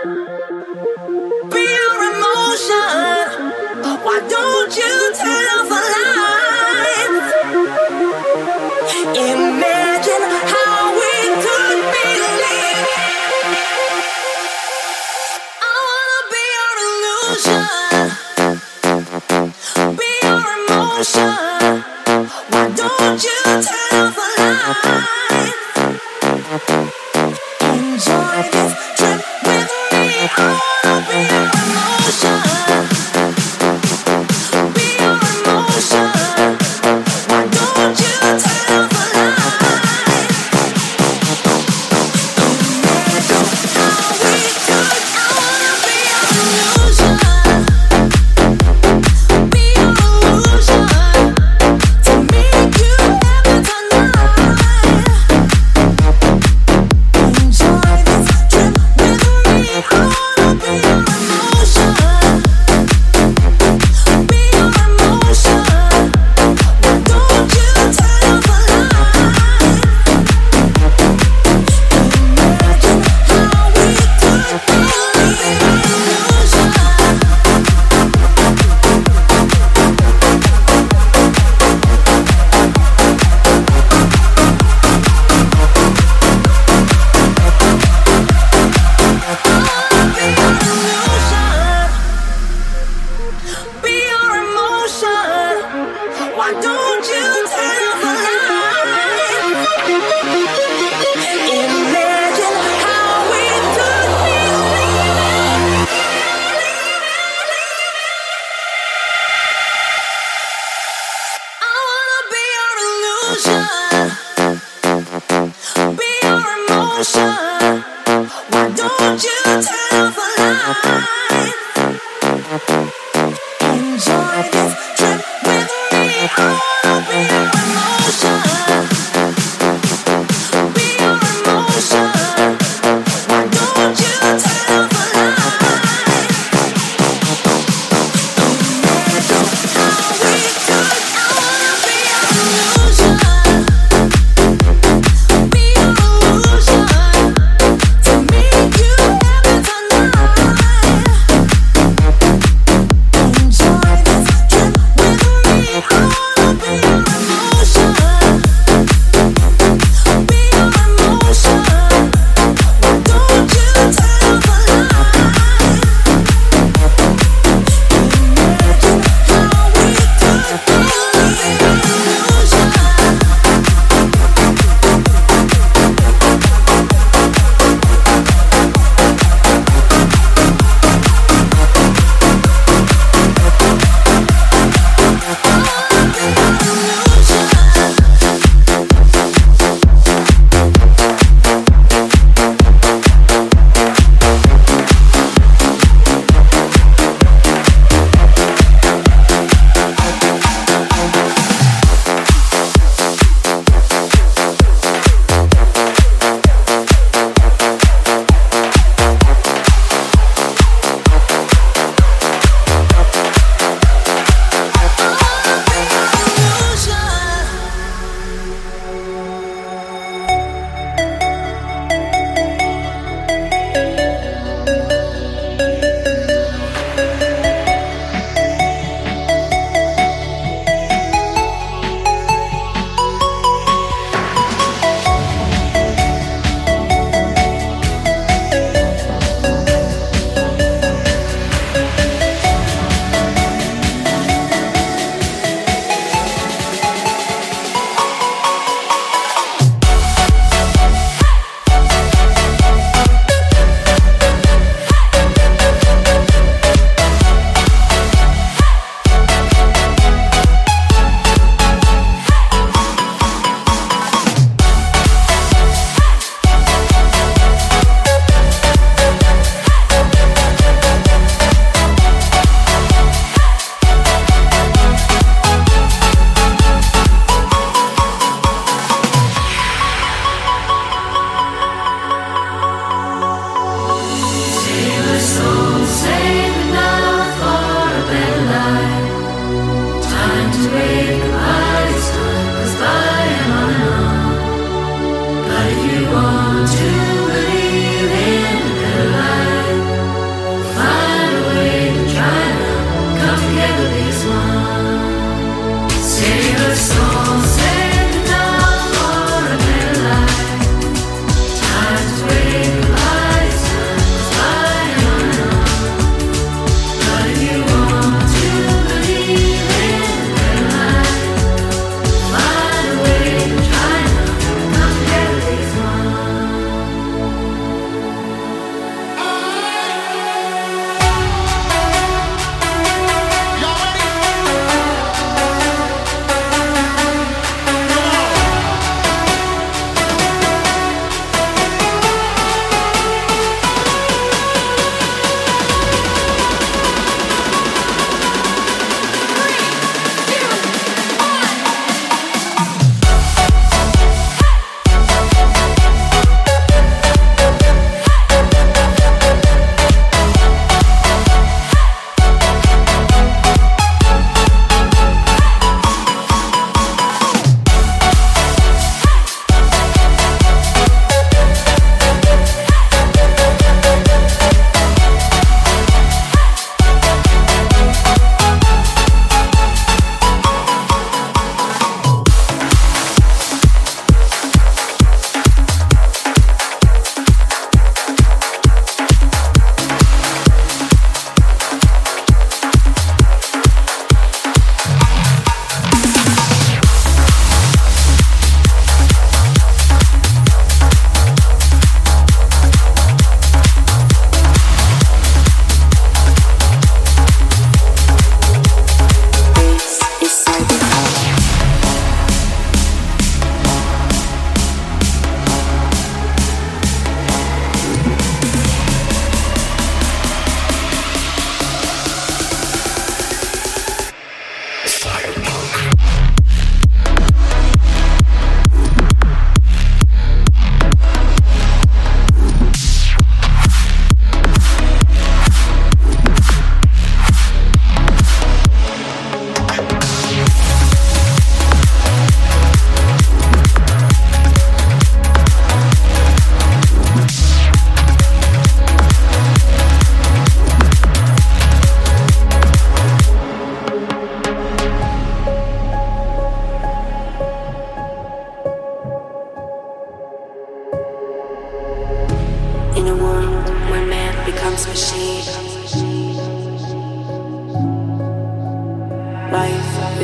Be your emotion. Why don't you turn off the lights? Imagine how we could be living. I wanna be your illusion. Be your emotion. Why don't you turn off the lights? Enjoy this trip with me. I wanna be your emotion. Be your emotion. Why don't you turn off the lights? Imagine how we could. I wanna be your illusion. Be your illusion. To make you happy tonight. Enjoy this trip with me. I wanna be your emotion. Be your emotion. Why don't you turn off the lights? Imagine how we could be living illusion. Be your emotion. Why don't you turn off the lights? Imagine how we could be living. I wanna be your illusion. Be your emotion. Why don't you turn off the lights? Enjoy this trip with me. I wanna be your emotion. Be your emotion. Why don't you turn off the lights? Imagine how we could. I wanna be your illusion. Be your illusion. To make you happy tonight.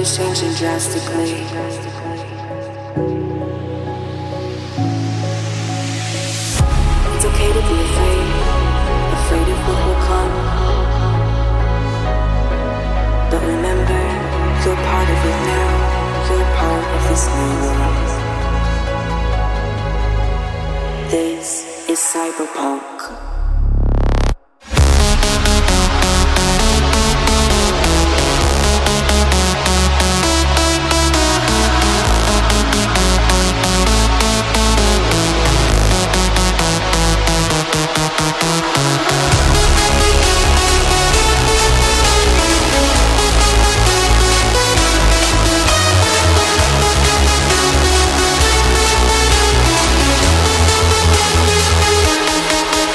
is changing drastically. It's okay to be afraid, afraid of what will come. But remember, you're part of it now, you're part of this new world. This is cyberpunk. We'll be right back.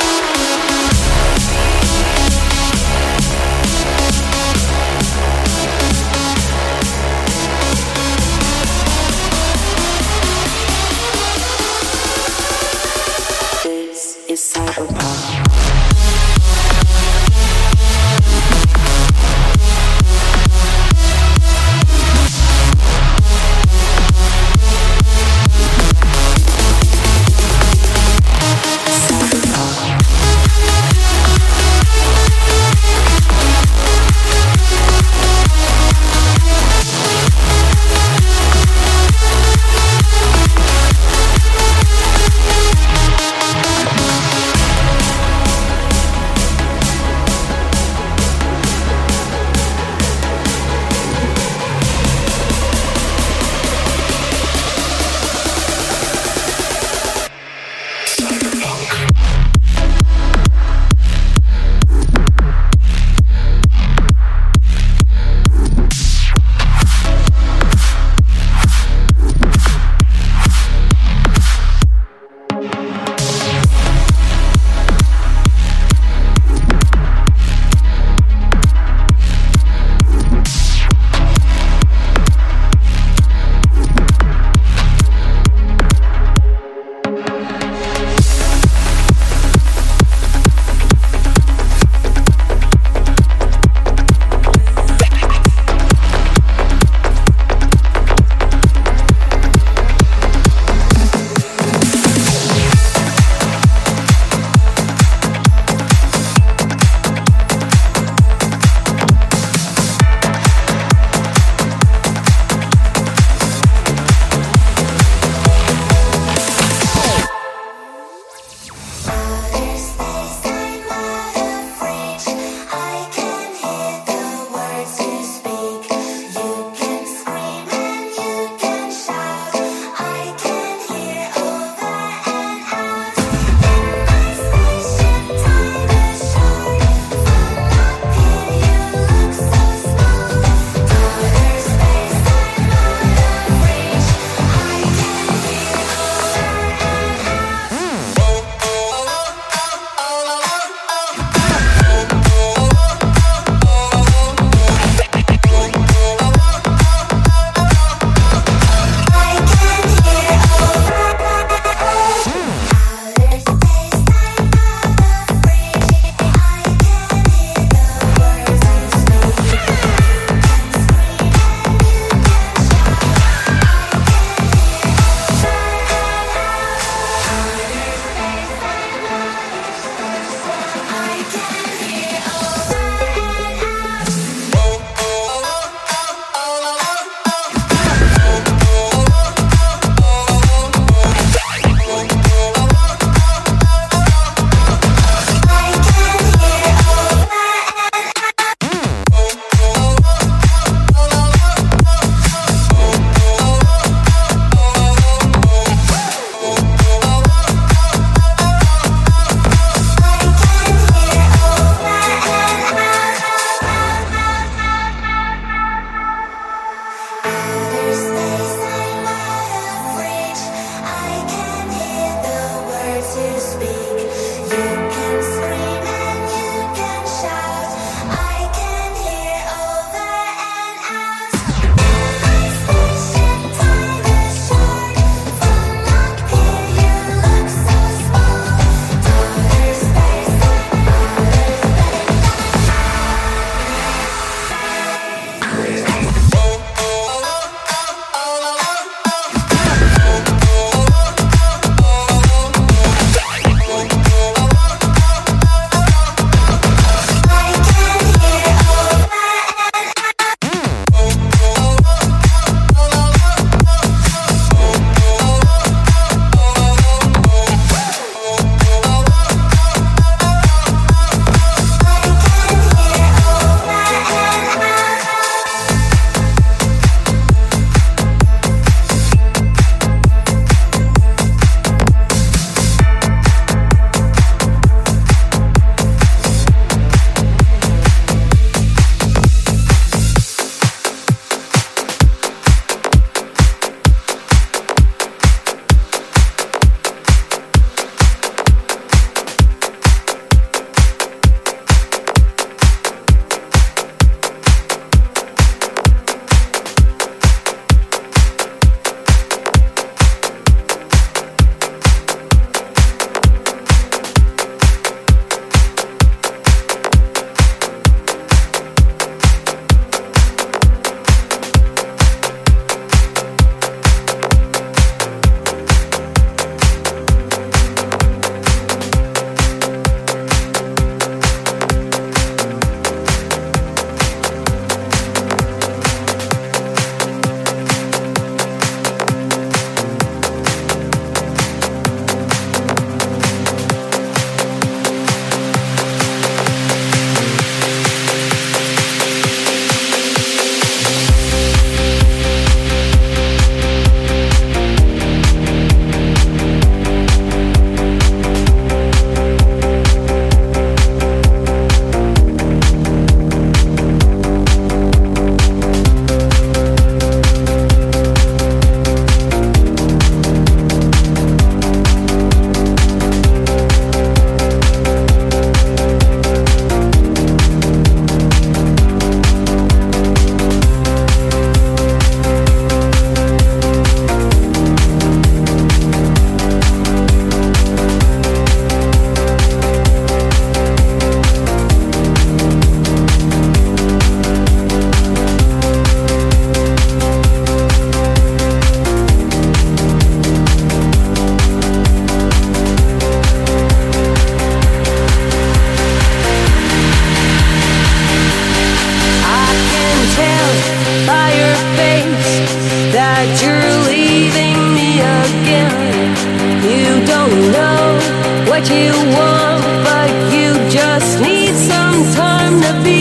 tell by your face that you're leaving me again. You don't know what you want, but you just need some time to be.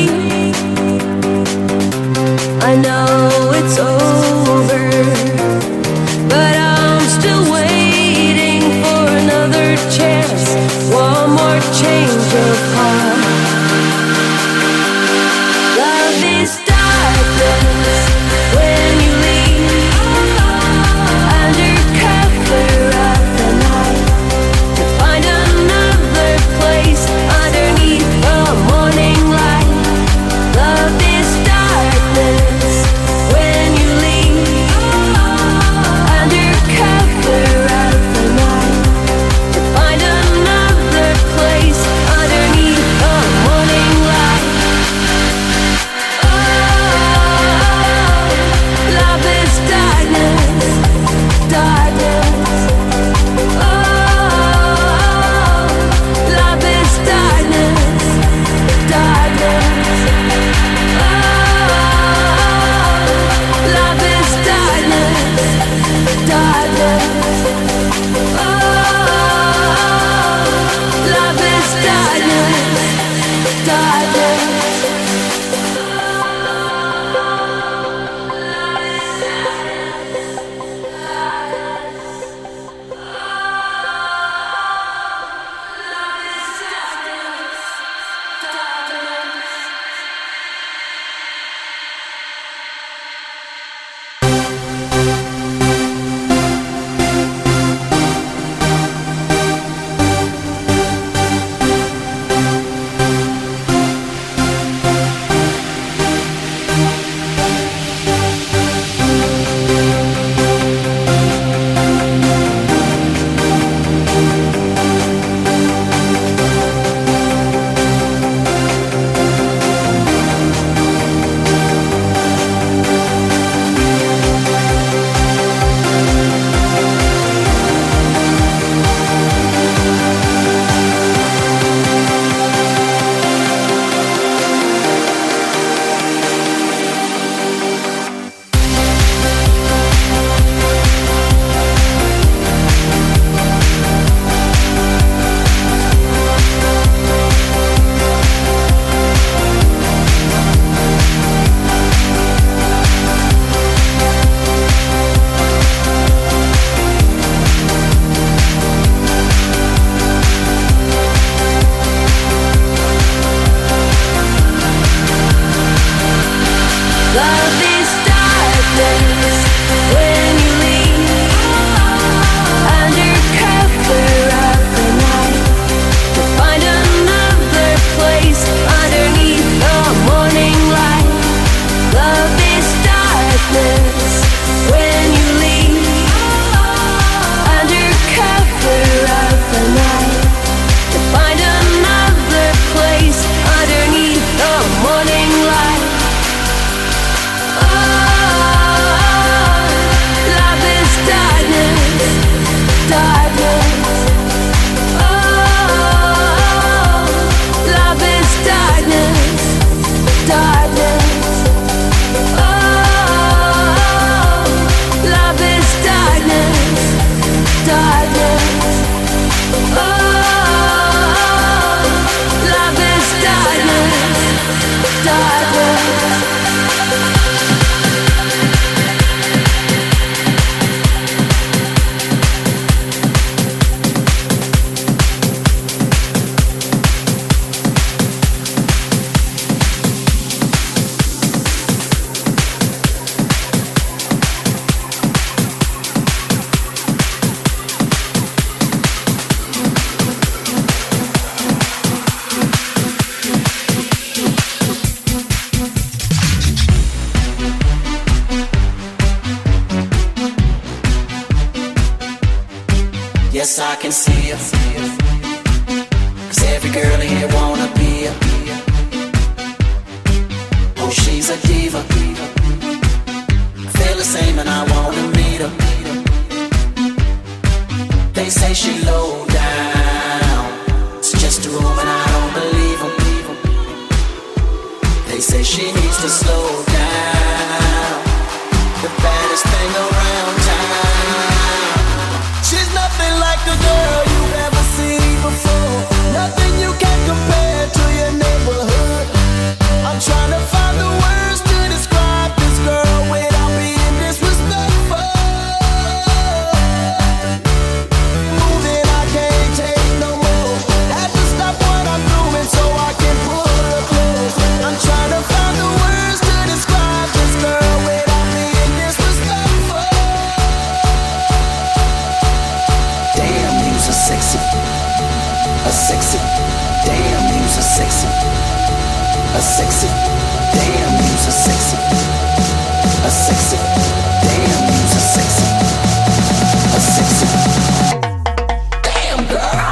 I know it's over, but I'm still waiting for another chance, one more change of heart. Love is darkness when you leave, under cover of the night, to find another place underneath the morning light. Love is darkness when you leave, under cover of the night, to find another place underneath the morning light. Love is darkness, darkness. Oh, love is darkness, darkness. Oh, love is darkness, darkness. Oh, love is darkness, darkness. Love is darkness when you leave, under cover of the night, to find another place underneath the morning light. Love is darkness when you leave, under cover of the night, to find another place underneath the morning light. Yes, I can see it. Cause every girl here wanna be a. Oh, she's a diva. I feel the same and I wanna meet her. They say she low down. It's just a room and I don't believe them. They say say she needs to slow down. The baddest thing around town. She's nothing like a girl you've ever seen before. Nothing you can compare to your neighborhood. I'm trying to find the words to describe this girl without being disrespectful. Moving, I can't take no more. Had to stop what I'm doing so I can pull her close. I'm trying to find the words to describe this girl without being disrespectful. Damn, you's a sexy, a sexy. Damn, you's a sexy, a sexy. Damn, you's a sexy, a sexy. Damn, you's a sexy, a sexy. Damn, girl.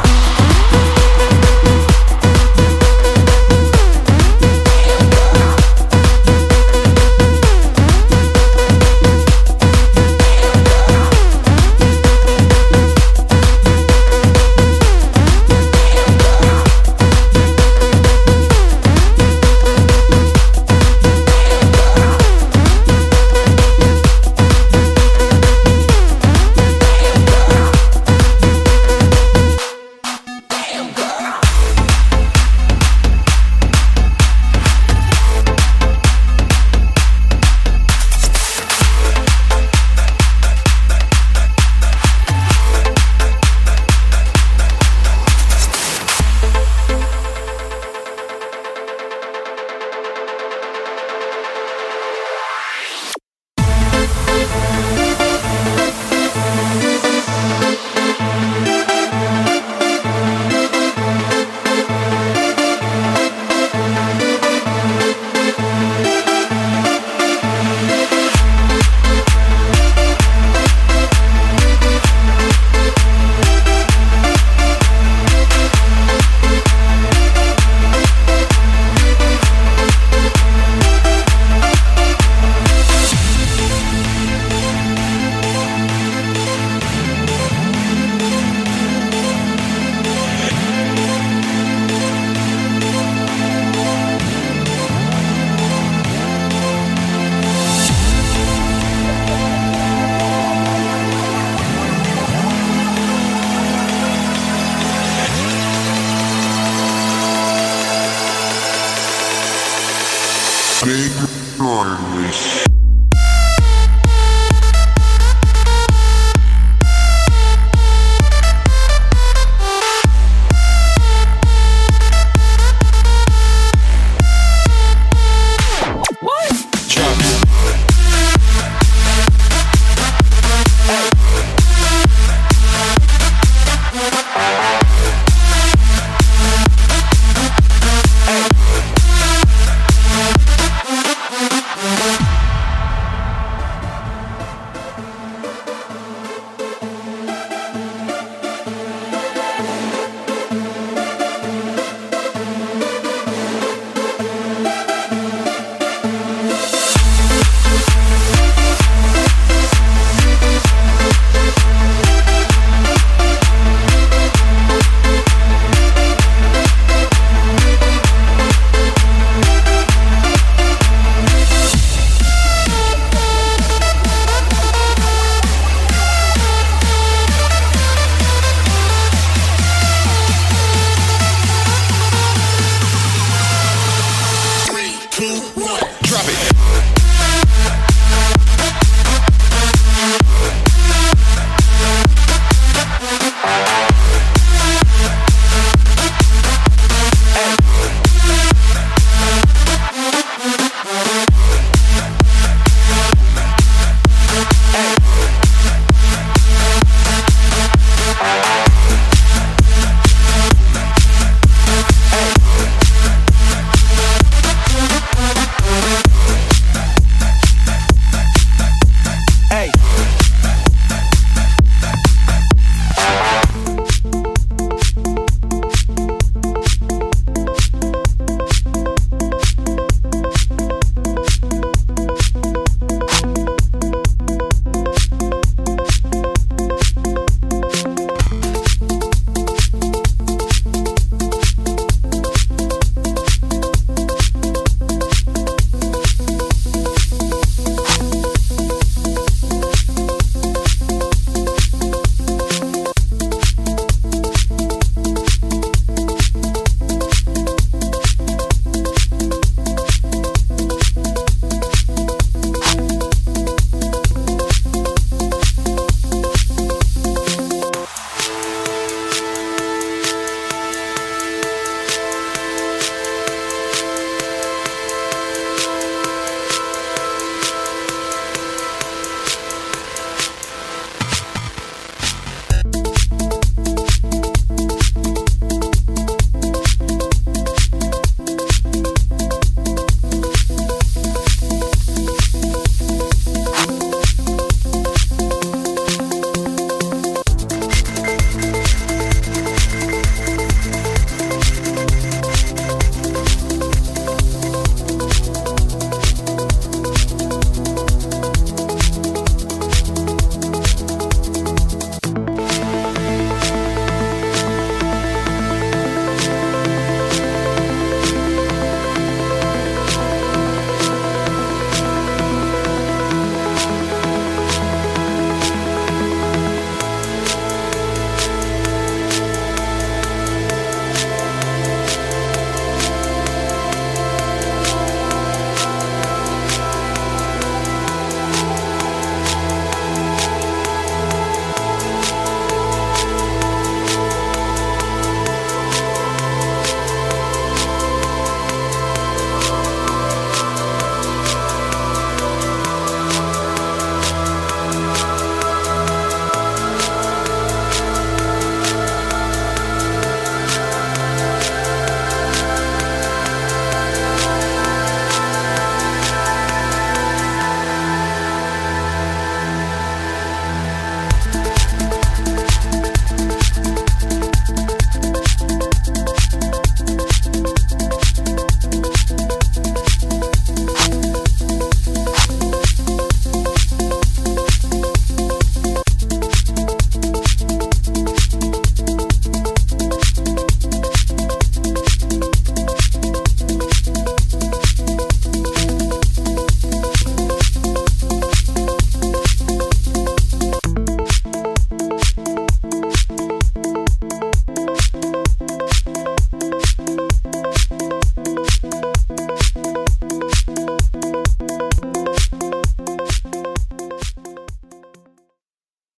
Drop it.